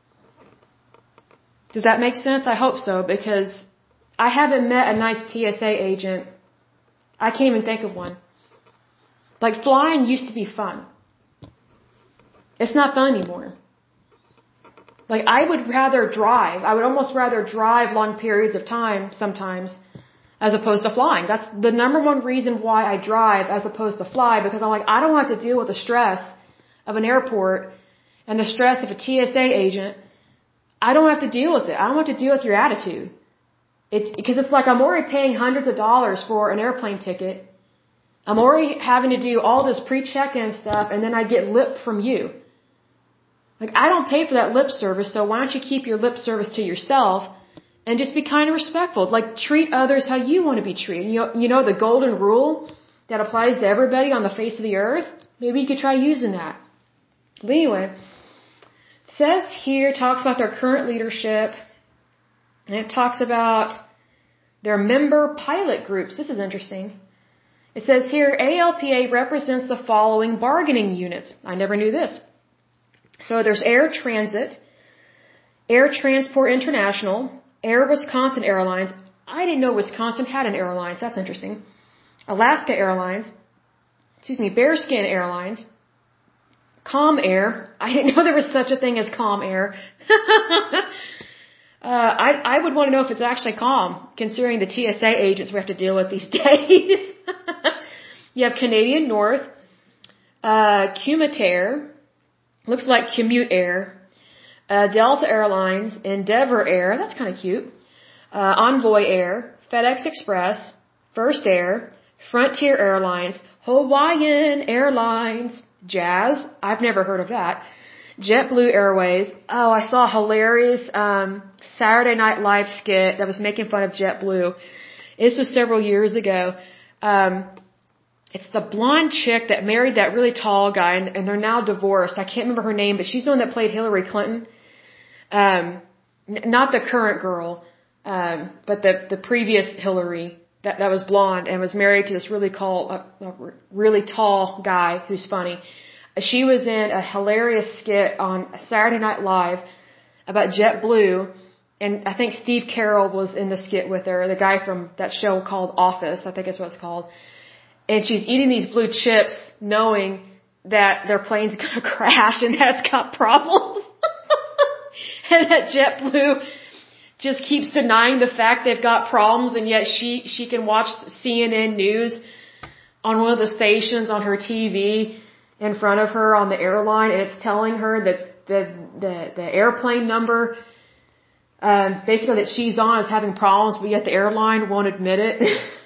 Does that make sense? I hope so, because I haven't met a nice TSA agent. I can't even think of one. Like, flying used to be fun. It's not fun anymore. Like, I would rather drive. I would almost rather drive long periods of time sometimes as opposed to flying. That's the number one reason why I drive as opposed to fly, because I'm like, I don't have to deal with the stress of an airport and the stress of a TSA agent. I don't have to deal with it. I don't have to deal with your attitude. Because it's like I'm already paying hundreds of dollars for an airplane ticket. I'm already having to do all this pre-check-in stuff, and then I get lip from you. Like, I don't pay for that lip service, so why don't you keep your lip service to yourself and just be kind and respectful? Like, treat others how you want to be treated. You know the golden rule that applies to everybody on the face of the earth? Maybe you could try using that. But anyway, it says here, talks about their current leadership, and it talks about their member pilot groups. This is interesting. It says here, ALPA represents the following bargaining units. I never knew this. So there's Air Transit, Air Transport International, Air Wisconsin Airlines. I didn't know Wisconsin had an airlines. That's interesting. Alaska Airlines, Bearskin Airlines, Calm Air. I didn't know there was such a thing as Calm Air. I would want to know if it's actually calm, considering the TSA agents we have to deal with these days. You have Canadian North, Cumitair, looks like Commute Air, Delta Airlines, Endeavor Air, that's kind of cute, Envoy Air, FedEx Express, First Air, Frontier Airlines, Hawaiian Airlines, Jazz, I've never heard of that. JetBlue Airways, oh, I saw a hilarious Saturday Night Live skit that was making fun of JetBlue. This was several years ago. It's the blonde chick that married that really tall guy, and they're now divorced. I can't remember her name, but she's the one that played Hillary Clinton. Not the current girl, but the previous Hillary that was blonde and was married to this really tall guy who's funny. She was in a hilarious skit on Saturday Night Live about JetBlue, and I think Steve Carell was in the skit with her, the guy from that show called Office, I think is what it's called. And she's eating these blue chips knowing that their plane's gonna crash and that it's got problems. And that JetBlue just keeps denying the fact they've got problems, and yet she can watch CNN News on one of the stations on her TV in front of her on the airline, and it's telling her that the airplane number basically that she's on is having problems, but yet the airline won't admit it.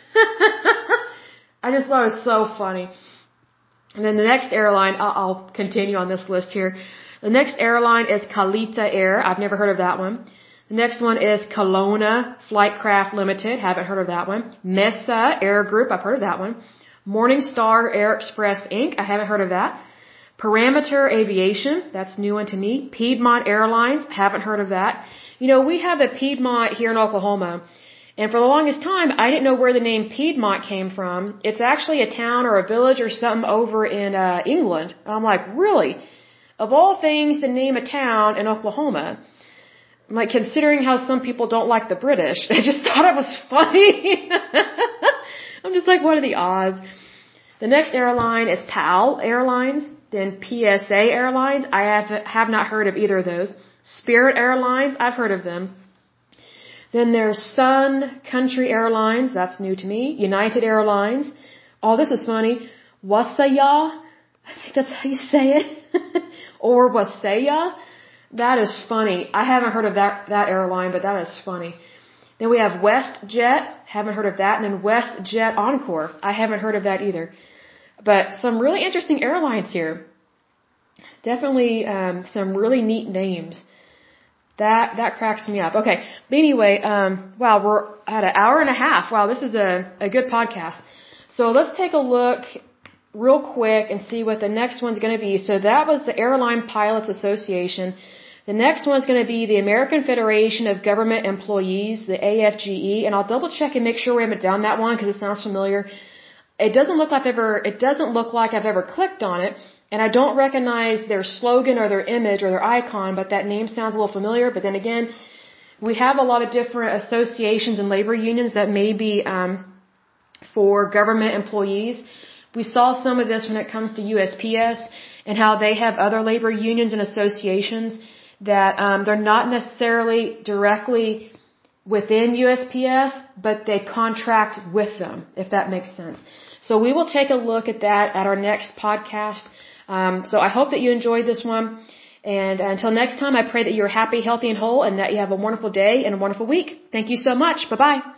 I just thought it was so funny. And then the next airline, I'll continue on this list here. The next airline is Kalita Air. I've never heard of that one. The next one is Kelowna Flightcraft Limited. Haven't heard of that one. Mesa Air Group. I've heard of that one. Morningstar Air Express Inc. I haven't heard of that. Parameter Aviation. That's new one to me. Piedmont Airlines. Haven't heard of that. You know, we have a Piedmont here in Oklahoma. And for the longest time, I didn't know where the name Piedmont came from. It's actually a town or a village or something over in England. And I'm like, really? Of all things to name a town in Oklahoma, I'm like, considering how some people don't like the British, I just thought it was funny. I'm just like, what are the odds? The next airline is PAL Airlines, then PSA Airlines. I have not heard of either of those. Spirit Airlines, I've heard of them. Then there's Sun Country Airlines, that's new to me. United Airlines. Oh, this is funny. Wasaya, I think that's how you say it. Or Wasaya. That is funny. I haven't heard of that airline, but that is funny. Then we have WestJet, haven't heard of that. And then WestJet Encore, I haven't heard of that either. But some really interesting airlines here. Definitely some really neat names. That cracks me up. Okay. But anyway, wow, we're at an hour and a half. Wow, this is a good podcast. So let's take a look real quick and see what the next one's going to be. So that was the Airline Pilots Association. The next one's going to be the American Federation of Government Employees, the AFGE, and I'll double check and make sure we haven't done that one because it sounds familiar. It doesn't look like I've ever clicked on it. And I don't recognize their slogan or their image or their icon, but that name sounds a little familiar. But then again, we have a lot of different associations and labor unions that may be for government employees. We saw some of this when it comes to USPS and how they have other labor unions and associations that they're not necessarily directly within USPS, but they contract with them, if that makes sense. So we will take a look at that at our next podcast. So I hope that you enjoyed this one. And until next time, I pray that you're happy, healthy, and whole, and that you have a wonderful day and a wonderful week. Thank you so much. Bye-bye.